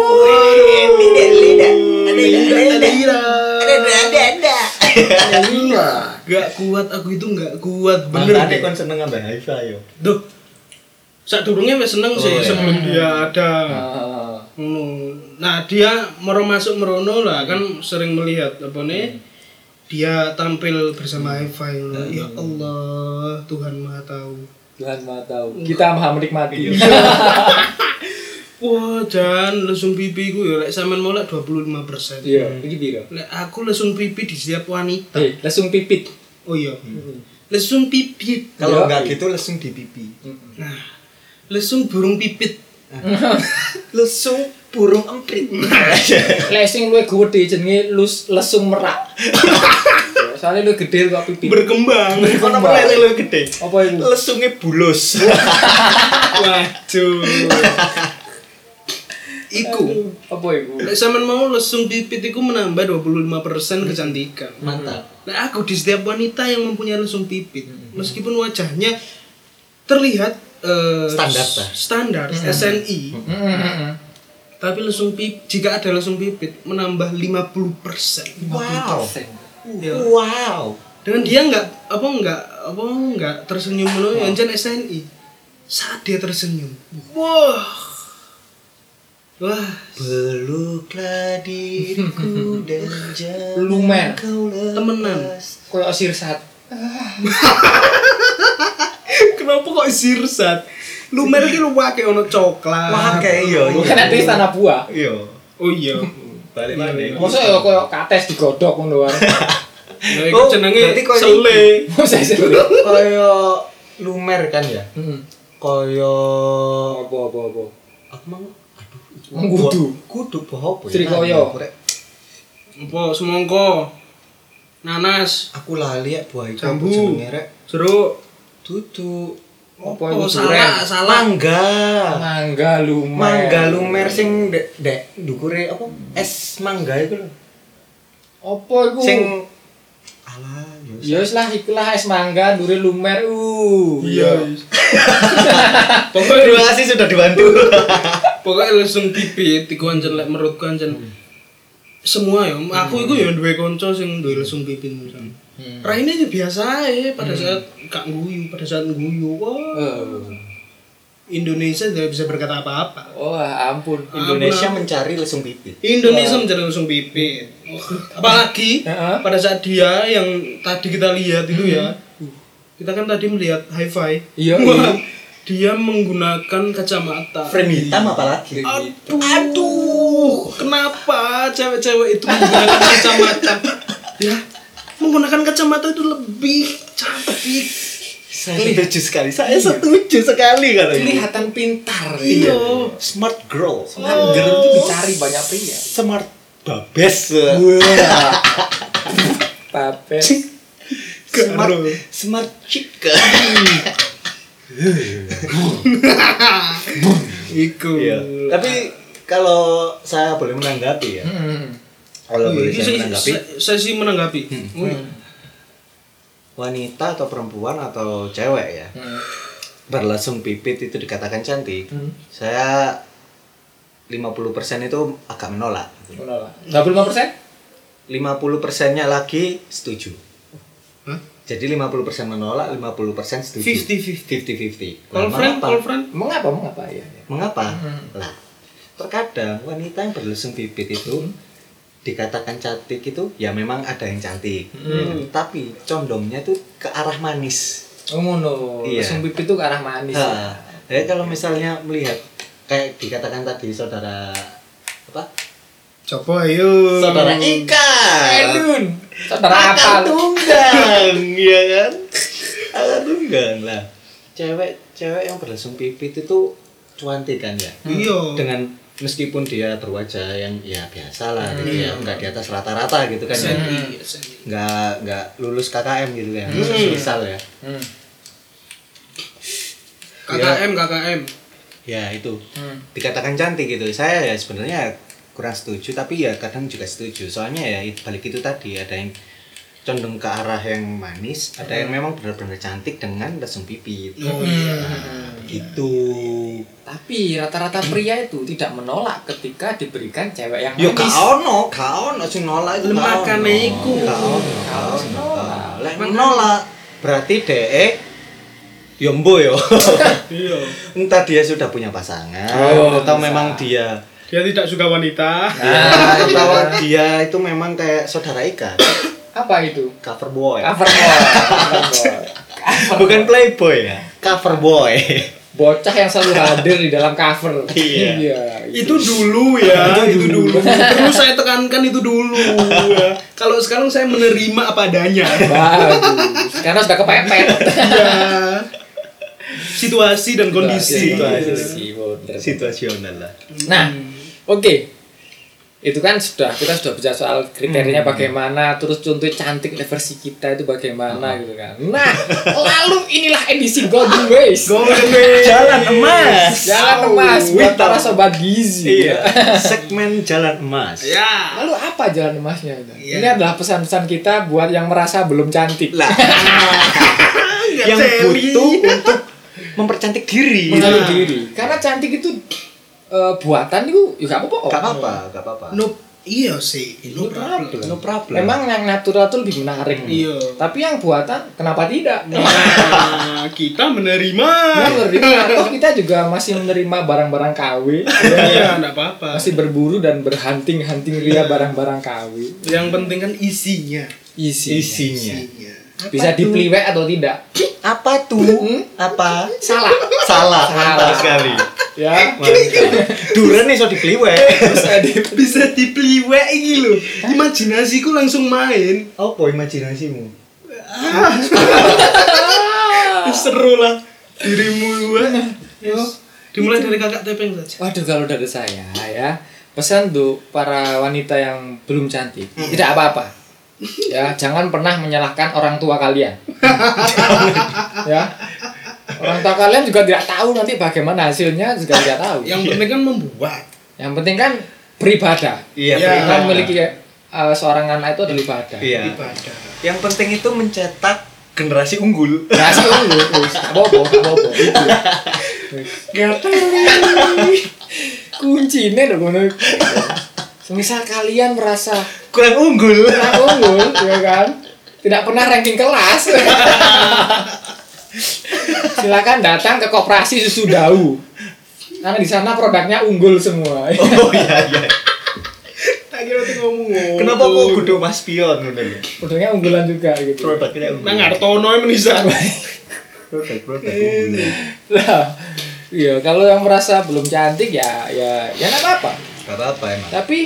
Iya. Gak kuat aku itu gak kuat bener Makanya deh. kon seneng ambek Haifa yo. Duh. Sadurunge wis seneng sih Oh, iya. sebelum dia ada. Ah. Nah, dia masuk merono lah kan sering melihat apa nih? Dia tampil bersama Eva. Ya Allah, Tuhan Maha tahu. Tuhan Maha tahu. Kita maha menikmati. Wah, jan lesung pipi ku ya lek sampean molek 25%. Iya, iki piro? Lek aku lesung pipi di setiap wanita. Langsung pipit. Oh iya. Lesung pipit. Kalau Yo. enggak gitu langsung di pipi. Nah, lesung burung pipit. Lesung burung emprit. Lek sing luwih gede jenenge lesung merak. Soalnya lu gede kok pipi. Berkembang. Ono melele lu gede. Apa itu? Lesungnya bulus. Waduh. Iku. Apa itu? Lek sampean mau lesung pipit iku menambah 25% kecantikan. Mantap. Lek aku di setiap wanita yang mempunyai lesung pipit, meskipun wajahnya terlihat standar SNI, tapi lesung pipit jika ada lesung pipit menambah 50%. Wow. Ya. Wow. Dengan dia nggak tersenyum menolong yang SNI. Saat dia tersenyum, wah, Peluklah diriku dan jangan Lumer. kau lepas. temenan. Koyo sirsat. Kenapa kok sirsat? Lumer iki lu wake ono coklat. Wah kayak iya. Bukan nanti tanah buah. Iya. Oh iya. Balik mana? Masa ya koyo kates digodhog ngono wae. Nah, iku jenenge berarti koyo sele. Masa sih. Koyo lumer kan ya? Heeh. Koyo Apa. aku mang kudu apa ya? Trikoyo. Apa semongko? Nanas, Aku lali ya buah itu Jambu. apa jenenge rek? jeruk. Tutu. Apa Oh, itu duren? salah. Mangga. Mangga lumer. Mangga lumer sing dek ndukure apa? Es mangga iku lho. Apa iku? Sing alah Ya wis lah ikulah es mangga dure lumer. Iya. Terima kasih sudah dibantu. Pokoknya langsung pipit iku ancen lek menurutku ancen semua ya. Aku iku ya duwe kanca sing duwe lesung pipit misal. Raine ya biasa ae pada saat gak guyu, pada saat guyu. Wah, Indonesia tidak bisa berkata apa-apa. Oh, ampun. Indonesia mencari lesung pipit. Indonesia mencari lesung pipit. Apalagi Heeh. pada saat dia yang tadi kita lihat itu ya. Kita kan tadi melihat hi-fi. Iya, Wah, dia menggunakan kacamata. Frame hitam apalagi. Aduh, kenapa cewek-cewek itu menggunakan kacamata? Ya, menggunakan kacamata itu lebih cantik. Saya setuju sekali. Saya setuju sekali kalau ini. Kelihatan pintar. Iya. Smart girl. Smart girl itu dicari banyak pria. Smart babes. Wah. Babes. Smart chick. Iku. Iya. Tapi kalau saya boleh menanggapi ya. Kalau boleh saya menanggapi, Saya sih menanggapi. wanita atau perempuan atau cewek ya. Berlasung pipit itu dikatakan cantik. Saya 50% itu agak menolak. Menolak. 25%? 50%-nya lagi setuju. Hah? Jadi 50% menolak, 50% setuju. 50-50. 50-50. Call friend. Mengapa ya? Mengapa? Lah, terkadang wanita yang berlesung bibit itu dikatakan cantik itu ya memang ada yang cantik. Tapi condongnya tuh ke arah manis. Oh ngono. Iya. Lesung pipi itu ke arah manis. Nah, jadi kalau misalnya melihat kayak dikatakan tadi saudara apa? Coba ayo. Saudara Ika. Edun. Saudara Akar apa? tunggang, ya kan? Akar tunggang lah. Cewek yang berlesung pipit itu cantik kan ya? Iya. Dengan meskipun dia berwajah yang ya biasa lah gitu ya, nggak di atas rata-rata gitu kan ya. Nggak lulus KKM gitu ya. Misal ya. KKM. Ya itu. Dikatakan cantik gitu. Saya ya sebenarnya kurang setuju tapi ya kadang juga setuju. Soalnya ya balik itu tadi ada yang condong ke arah yang manis, ada yang memang benar-benar cantik dengan lesung pipit. Oh iya. Gitu. Tapi rata-rata pria itu tidak menolak ketika diberikan cewek yang Yo manis. gak ono sing nolak itu. Makane iku. Gak ono. Lek menolak berarti dhek yo mbo yo. Iya. Entah dia sudah punya pasangan atau memang dia Dia tidak suka wanita. atau dia itu memang kayak saudara Ika, Apa itu? cover boy. Cover boy. Bukan playboy ya, cover boy. Bocah yang selalu hadir di dalam cover. Iya. Itu dulu ya, itu dulu. Perlu saya tekankan itu dulu ya. Kalau sekarang saya menerima apa adanya. Bagus. Karena sudah kepepet. Ya. Situasi dan kondisi. Situasional lah. Nah, oke. Itu kan kita sudah bicara soal kriterianya bagaimana, terus contoh cantik versi kita itu bagaimana gitu kan. Nah, lalu inilah edisi Golden Ways. Jalan emas. Jalan emas buat para sobat gizi. Iya. Segmen jalan emas. Ya. Lalu apa jalan emasnya? Iya. Ini adalah pesan-pesan kita buat yang merasa belum cantik. Lah. Yang butuh untuk mempercantik diri. Mengenal diri. Karena cantik itu buatan itu ya gak apa-apa. Gak apa-apa. Iya sih, no problem. No problem. Memang yang natural tuh lebih menarik. Iya. Tapi yang buatan kenapa tidak? Nah, kita menerima. Atau kita juga masih menerima barang-barang KW. Iya, enggak apa-apa. Masih berburu dan berhunting-hunting ria barang-barang KW. Yang penting kan isinya. Isinya. Bisa dipeliwek atau tidak? Apa tuh? Apa? Salah. Mantap sekali. Ya. Duren iso dikliwek. Bisa dipeliwek iki lho. Imajinasiku langsung main. Apa imajinasimu? Seru lah dirimu gua. Dimulai dari kakak tepeng saja. Waduh, kalau dari saya ya, pesan untuk para wanita yang belum cantik, tidak apa-apa. Ya, jangan pernah menyalahkan orang tua kalian. Ya. Orang tua kalian juga tidak tahu nanti bagaimana hasilnya, juga tidak tahu. Yang penting kan membuat. Yang penting kan beribadah. Iya, Ya. Kan memiliki seorang anak itu adalah ibadah. Iya. Ibadah. Yang penting itu mencetak generasi unggul. Nasi unggul, apa-apa. Kuncinya dong ngono. Semisal kalian merasa Kurang unggul. ya kan? Tidak pernah ranking kelas. Silakan datang ke Koperasi Susu Dau. Karena di sana produknya unggul semua. Oh iya. Tak kira tuh ngomong. Kenapa kok kudu Mas Pion ngono lho? Produknya unggulan juga gitu. Produknya unggul. Nang Hartono menisan. Produk unggulan. Lah, iya kalau yang merasa belum cantik ya enggak apa-apa. Gak apa-apa emang. Tapi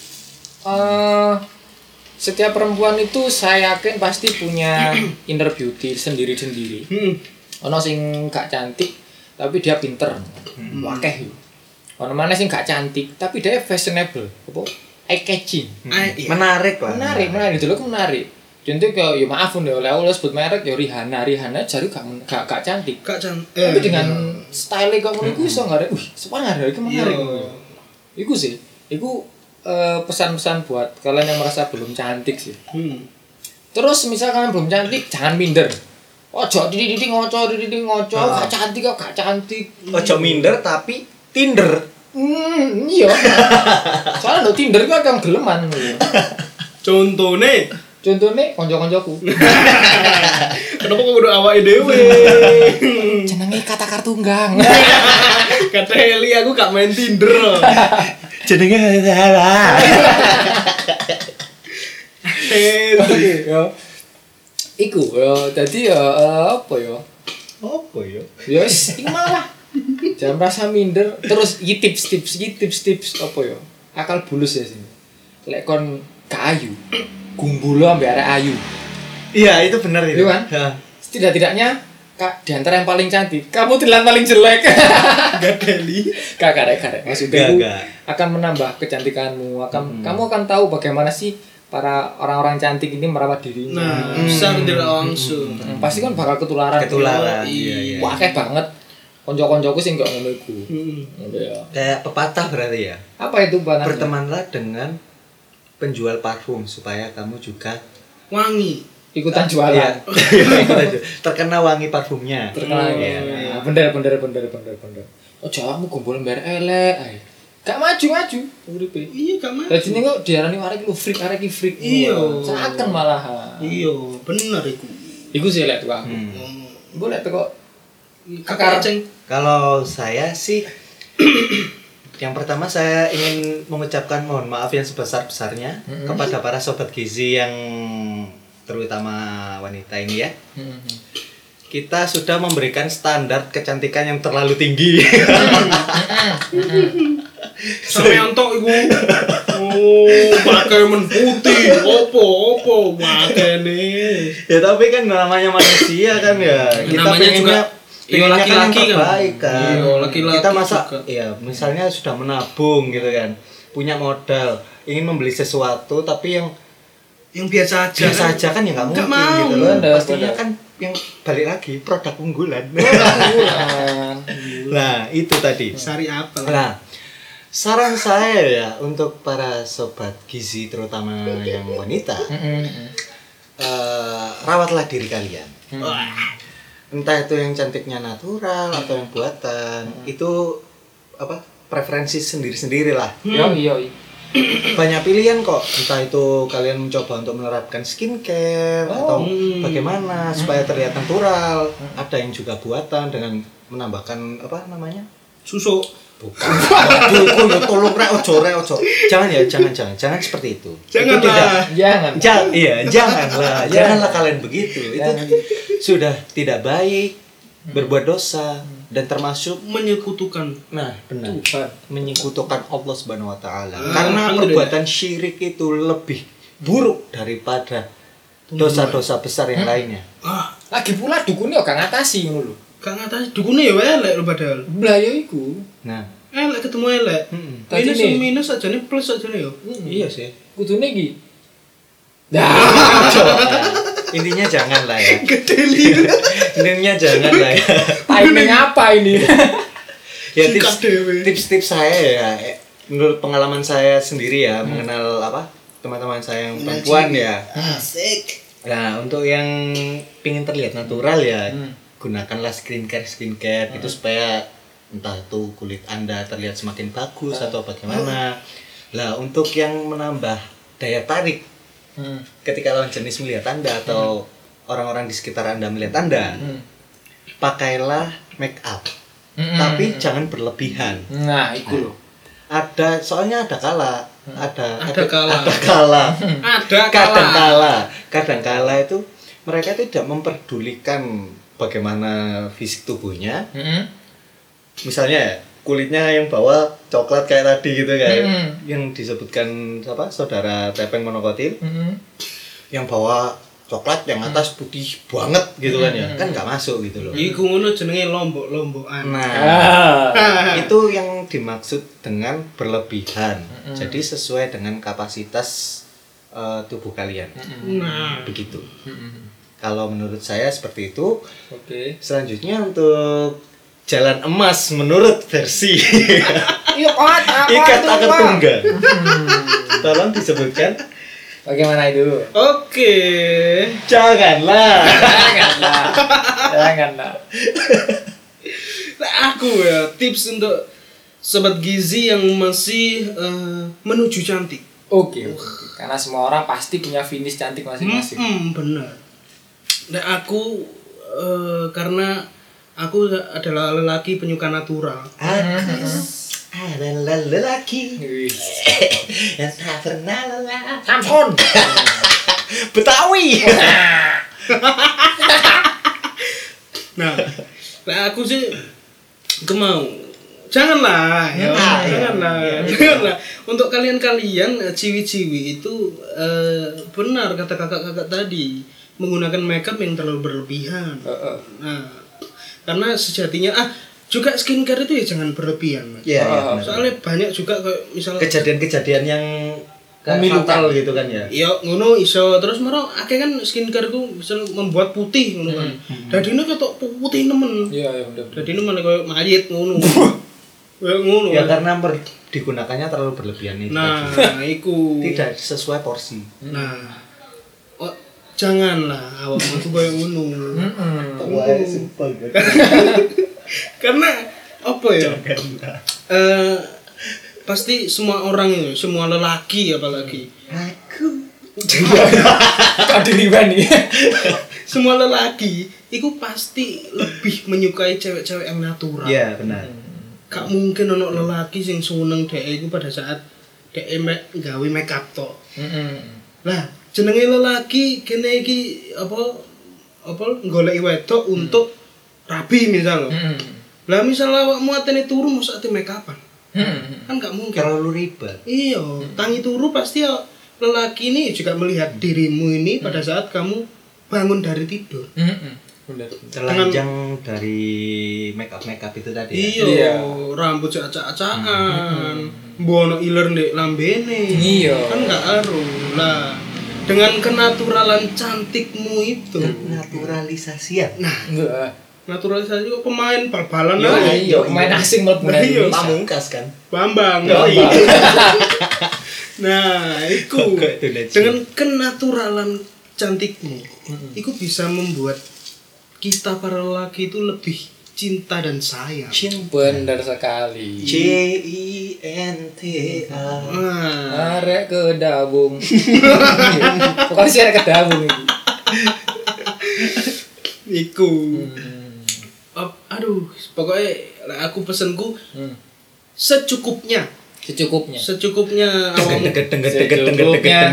setiap perempuan itu saya yakin pasti punya inner beauty sendiri-sendiri. Ono sing gak cantik tapi dia pinter. Wakeh yo. Ono mana sing gak cantik tapi dia fashionable, apa? Eye catching. Menarik lah. Menarik dulu menarik. Contoh kayak ya maaf nih oleh sebut merek ya Rihanna jari gak cantik. Tapi dengan style kok ngono iku iso ngarep, sepangar iku menarik. Iku sih. Iku pesan-pesan buat kalian yang merasa belum cantik sih. Terus misal kalian belum cantik, jangan minder. Ojo dididik ngoco, gak cantik kok gak cantik. Ojo minder tapi Tinder. Iya. Soalnya lo Tinder kan akan geleman. Contohnya konco-koncoku. kenapa kok udah awake dhewe? Jenenge kata kartunggang. Kata Heli aku gak main Tinder. Jenenge salah. Iku dadi apa ya? Apa ya? Ya wis iku malah. Jangan merasa minder. Terus iki tips apa ya? Akal bulus ya sini. Lek kon kayu, gumbulo ambek arek ayu. Iya, itu benar itu. Iya kan? Setidak-tidaknya Kak, di antara yang paling cantik, kamu terlihat paling jelek. Gak Heli. Karek. Maksudnya itu Gak. akan menambah kecantikanmu. Kamu akan tahu bagaimana sih para orang-orang cantik ini merawat dirinya. Besar tidak langsung. Pasti kan bakal ketularan. Iya. Wakeh banget. Konco-koncoku sing gak ngono iku. Ya. Kayak pepatah berarti ya. Apa itu banana? Bertemanlah dengan penjual parfum supaya kamu juga Wangi. Ikutan jualan. Iya. Terkena wangi parfumnya. Terkenal. Iya. Bener. Oh, jawamu kumpul ember elek ae. Gak maju uripe. Iya gak mah. Dadi ning kok diarani arek lu freak. Iya. Seakan malahan. Iya, bener iku. Iku sih lek tuh aku. Boleh tuh kok Kakak Ceng. Kalau saya sih yang pertama saya ingin mengucapkan mohon maaf yang sebesar-besarnya kepada para sobat gizi yang terutama wanita ini ya. Kita sudah memberikan standar kecantikan yang terlalu tinggi. Sampe entok iku. Pakai men putih. Opo makane. Ya tapi kan namanya manusia kan ya. Kita Namanya juga pengennya laki-laki kan yang kan. terbaik kan. Iya, laki-laki Kita masa juga. ya misalnya sudah menabung gitu kan. Punya modal, ingin membeli sesuatu tapi yang biasa aja. kan ya nggak mungkin mau. gitu loh. Bener, Pastinya bener. kan yang balik lagi produk unggulan. Bulan. Nah, itu tadi. Sari apa? Nah, saran saya ya untuk para sobat gizi terutama yang wanita, rawatlah diri kalian. Entah itu yang cantiknya natural atau yang buatan, itu apa preferensi sendiri-sendiri lah. Iya. Banyak pilihan kok, entah itu kalian mencoba untuk menerapkan skincare atau bagaimana supaya terlihat natural. Ada yang juga buatan dengan menambahkan apa namanya? Susu. Bukan. Aduh, tolong rek ojo. Jangan seperti itu. Jangan Itu tidak. Jangan. Janganlah kalian begitu. Itu sudah tidak baik, berbuat dosa dan termasuk Menyekutukan. nah, benar. Tuhan. Menyekutukan Allah Subhanahu wa taala. Ah, Karena alhamdulillah. perbuatan syirik itu lebih buruk daripada dosa-dosa besar yang lainnya. Lagi pula dukune kok gak ngatasi ngono lho. Gak ngatasi dukune ya elek lho padahal. Lah ya iku. Nah, Elek ketemu elek. Tadi Minus nih. minus aja nih plus aja nih yo. iya sih. Kudune iki. Intinya jangan lah ya. Gedeli. Intinya jangan lah ya. Timing apa ini? Ya Sikat dewe. tips saya ya menurut pengalaman saya sendiri ya mengenal apa teman-teman saya yang perempuan ya. Asik. Nah untuk yang pingin terlihat natural ya gunakanlah skincare itu supaya entah itu kulit anda terlihat semakin bagus atau bagaimana. Lah untuk yang menambah daya tarik ketika lawan jenis melihat anda atau orang-orang di sekitar anda melihat anda, pakailah make up. Tapi jangan berlebihan. Nah, iku lho. Soalnya ada kala Ada kadang kala itu mereka tidak memperdulikan bagaimana fisik tubuhnya. Misalnya ya, kulitnya yang bawah coklat kayak tadi gitu kan. Yang disebutkan apa? Saudara Tepeng Monokotil. Yang bawah coklat, yang atas putih banget gitu kan ya. Kan nggak masuk gitu loh. Iku ngono jenenge lombok-lombokan. Nah, itu yang dimaksud dengan berlebihan. Jadi sesuai dengan kapasitas tubuh kalian. Nah, Begitu. Kalau menurut saya seperti itu. Oke. Selanjutnya untuk jalan emas menurut versi Iya, Ikat Akar Tunggal. Tolong disebutkan. Bagaimana itu? oke. Janganlah. Janganlah. Nah, aku ya tips untuk sobat gizi yang masih menuju cantik. Oke. Karena semua orang pasti punya finish cantik masing-masing. Benar. Nah, aku karena aku adalah lelaki penyuka natural. Aku adalah lelaki Wih. yang tak pernah lelah. Samson. Betawi. Nah, aku sih mau janganlah ya, janganlah. Untuk kalian-kalian ciwi-ciwi itu benar kata kakak-kakak tadi, menggunakan makeup yang terlalu berlebihan. Nah, karena sejatinya juga skincare itu ya jangan berlebihan, Mas. Iya, benar. Soalnya banyak juga kayak misalnya Kejadian-kejadian yang Memilukan. fatal gitu kan ya. iya ngono iso terus maro akeh kan skincare ku bisa membuat putih ngono kan. Dadine ketok putih nemen. Iya, bener. Dadine malah koyo mayit ngono. Kayak ngono. Ya karena digunakannya terlalu berlebihan itu. Nah, tadi. iku. Tidak sesuai porsi. Nah. Oh, janganlah awakmu tuh koyo ngono. Wah, simpel gitu. Karena apa ya? Pasti semua orang itu, semua lelaki apalagi. Aku Kok diriban nih? Semua lelaki itu pasti lebih menyukai cewek-cewek yang natural. Iya, benar. Gak mungkin ono lelaki sing seneng dhek iku pada saat dhek gawe make up tok. Lah, jenenge lelaki kene iki apa goleki wedok untuk rabi misal. Lah misal awakmu atene turu mosok ate make upan. Kan gak mungkin. Terlalu ribet. Iya, tangi turu pasti ya lelaki ini juga melihat dirimu ini pada saat kamu bangun dari tidur. Bener. Telanjang dari make up itu tadi. Ya? Iya, rambut acak-acakan, bono iler ndek lambene. Iya. Kan gak aruh. Lah, dengan kenaturalan cantikmu itu. Naturalisasian. Nah, Enggak. naturalisasi kok pemain bal-balan Iya, aja. iya, pemain asing mlebu nang Iya, Indonesia. Pamungkas kan. Bambang. Oh, iya. Nah, itu Kok itu legend. dengan kenaturalan cantikmu, itu bisa membuat kita para lelaki itu lebih cinta dan sayang. Bener sekali. CINTA. Nah, Arek ke dabung. Pokoknya sih arek ke dabung ini. iku. Aduh, pokoknya aku pesenku secukupnya. Secukupnya awakmu. Secukupnya.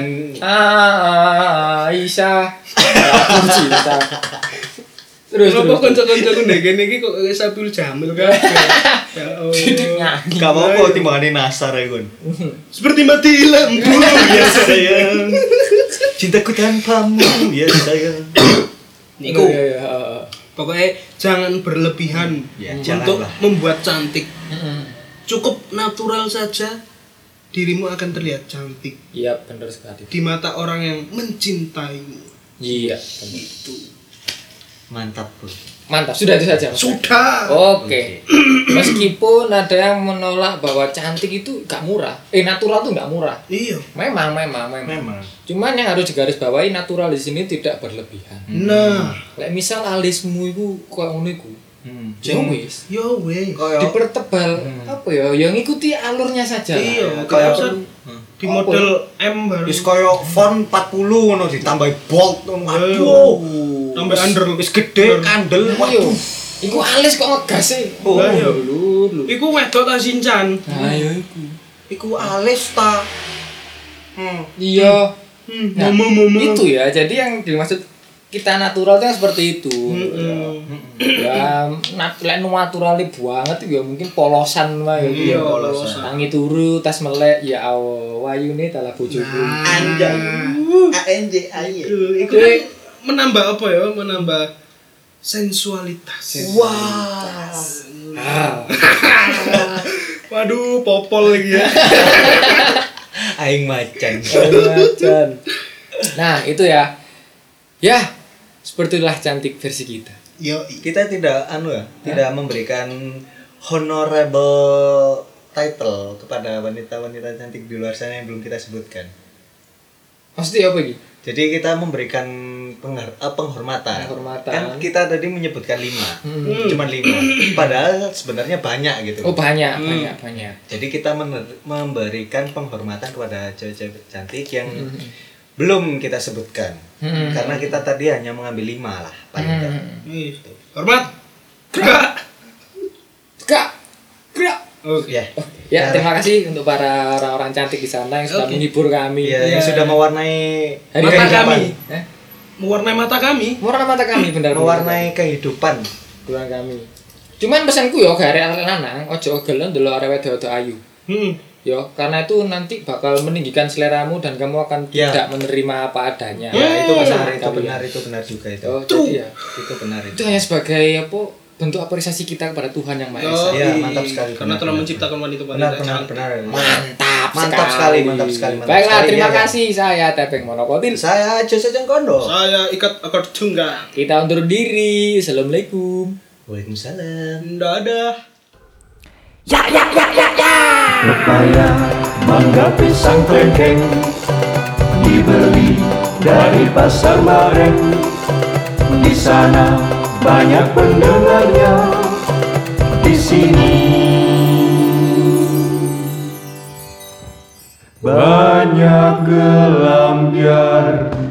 Aisyah. Aku cinta. Terus Kenapa kanca-kancaku ndek kene iki kok Sapiul Jamil kan? Ya Allah. Gak mau kok timbangannya nasar ya Gun. Seperti mati lampu ya sayang. Cintaku tanpamu ya sayang. Niku. Iya. Pokoknya jangan berlebihan Ya, untuk janganlah. membuat cantik. Cukup natural saja, dirimu akan terlihat cantik Iya, bener sekali. di mata orang yang mencintaimu. Iya, Mantap Bro. mantap. Sudah itu saja. Sudah. Oke. Meskipun ada yang menolak bahwa cantik itu gak murah. Natural tuh gak murah. Iya. Memang. Cuman yang harus digarisbawahi natural di sini tidak berlebihan. Nah, Lek misal alismu itu koyo ngono iku. Ya wis. yo weh. Dipertebal apa ya? Yang ngikuti alurnya saja. lah. Iya, Kayak kayak di model M baru. Wis koyo font 40 ngono ditambahi bold ngono. Aduh. Tambah under. Wis gede kandel. Ayo. Waduh. Iku alis kok ngegas e. Oh, iya. Lu. Iku wedok ta Shinchan. Ayo iku. Iku alis ta. Iya. Momo. Itu ya. Jadi yang dimaksud kita natural itu yang seperti itu. Ya, lek naturalnya banget ya mungkin polosan wae Iya, ya. polosan. Tangi turu, tas melek, ya Allah, wayune tala bojoku. Anjay. ANJ aye. Itu kan menambah apa ya? Menambah sensualitas. Wah. Waduh, popol lagi ya. Aing macan. Macan. Nah, itu ya. Ya, sepertilah cantik versi kita. Yo, Kita tidak tidak memberikan honorable title kepada wanita-wanita cantik di luar sana yang belum kita sebutkan. Maksudnya apa ini? Jadi kita memberikan penghormatan. Penghormatan. Kan kita tadi menyebutkan 5. Cuman 5. Padahal sebenarnya banyak gitu. Oh, banyak. Jadi kita memberikan penghormatan kepada cewek-cewek cantik yang belum kita sebutkan. Karena kita tadi hanya mengambil 5 lah paling enggak. hormat. Gerak. Gerak. Oke. Ya, terima kasih untuk para orang-orang cantik di sana yang sudah menghibur kami. Iya, yang sudah mewarnai Hari Mata kehidupan. kami. Mewarnai mata kami. Mewarnai mata kami benar. mewarnai kehidupan. kehidupan kami. Cuman pesanku yo gak arek lanang, ojo gelem ndelok arek wedok ayu. Yo, karena itu nanti bakal meninggikan seleramu dan kamu akan tidak menerima apa adanya. Ya, itu Kalian. benar juga itu. Oh, jadi ya. Itu benar Itu hanya sebagai apa? Bentuk apresiasi kita kepada Tuhan yang Maha Esa. Iya, mantap sekali. Karena telah menciptakan wanita-wanita cantik. Benar. Mantap sekali. Baiklah, terima kasih. Saya Tepeng Monokotil. Saya Jose Jengkondo. Saya ikat akar tunggang. Kita undur diri. Assalamualaikum. Waalaikumsalam. Dadah. Pepaya, mangga, pisang, klengkeng dibeli dari pasar Mareng. Di sana banyak pendengarnya. Di sini banyak gelam biar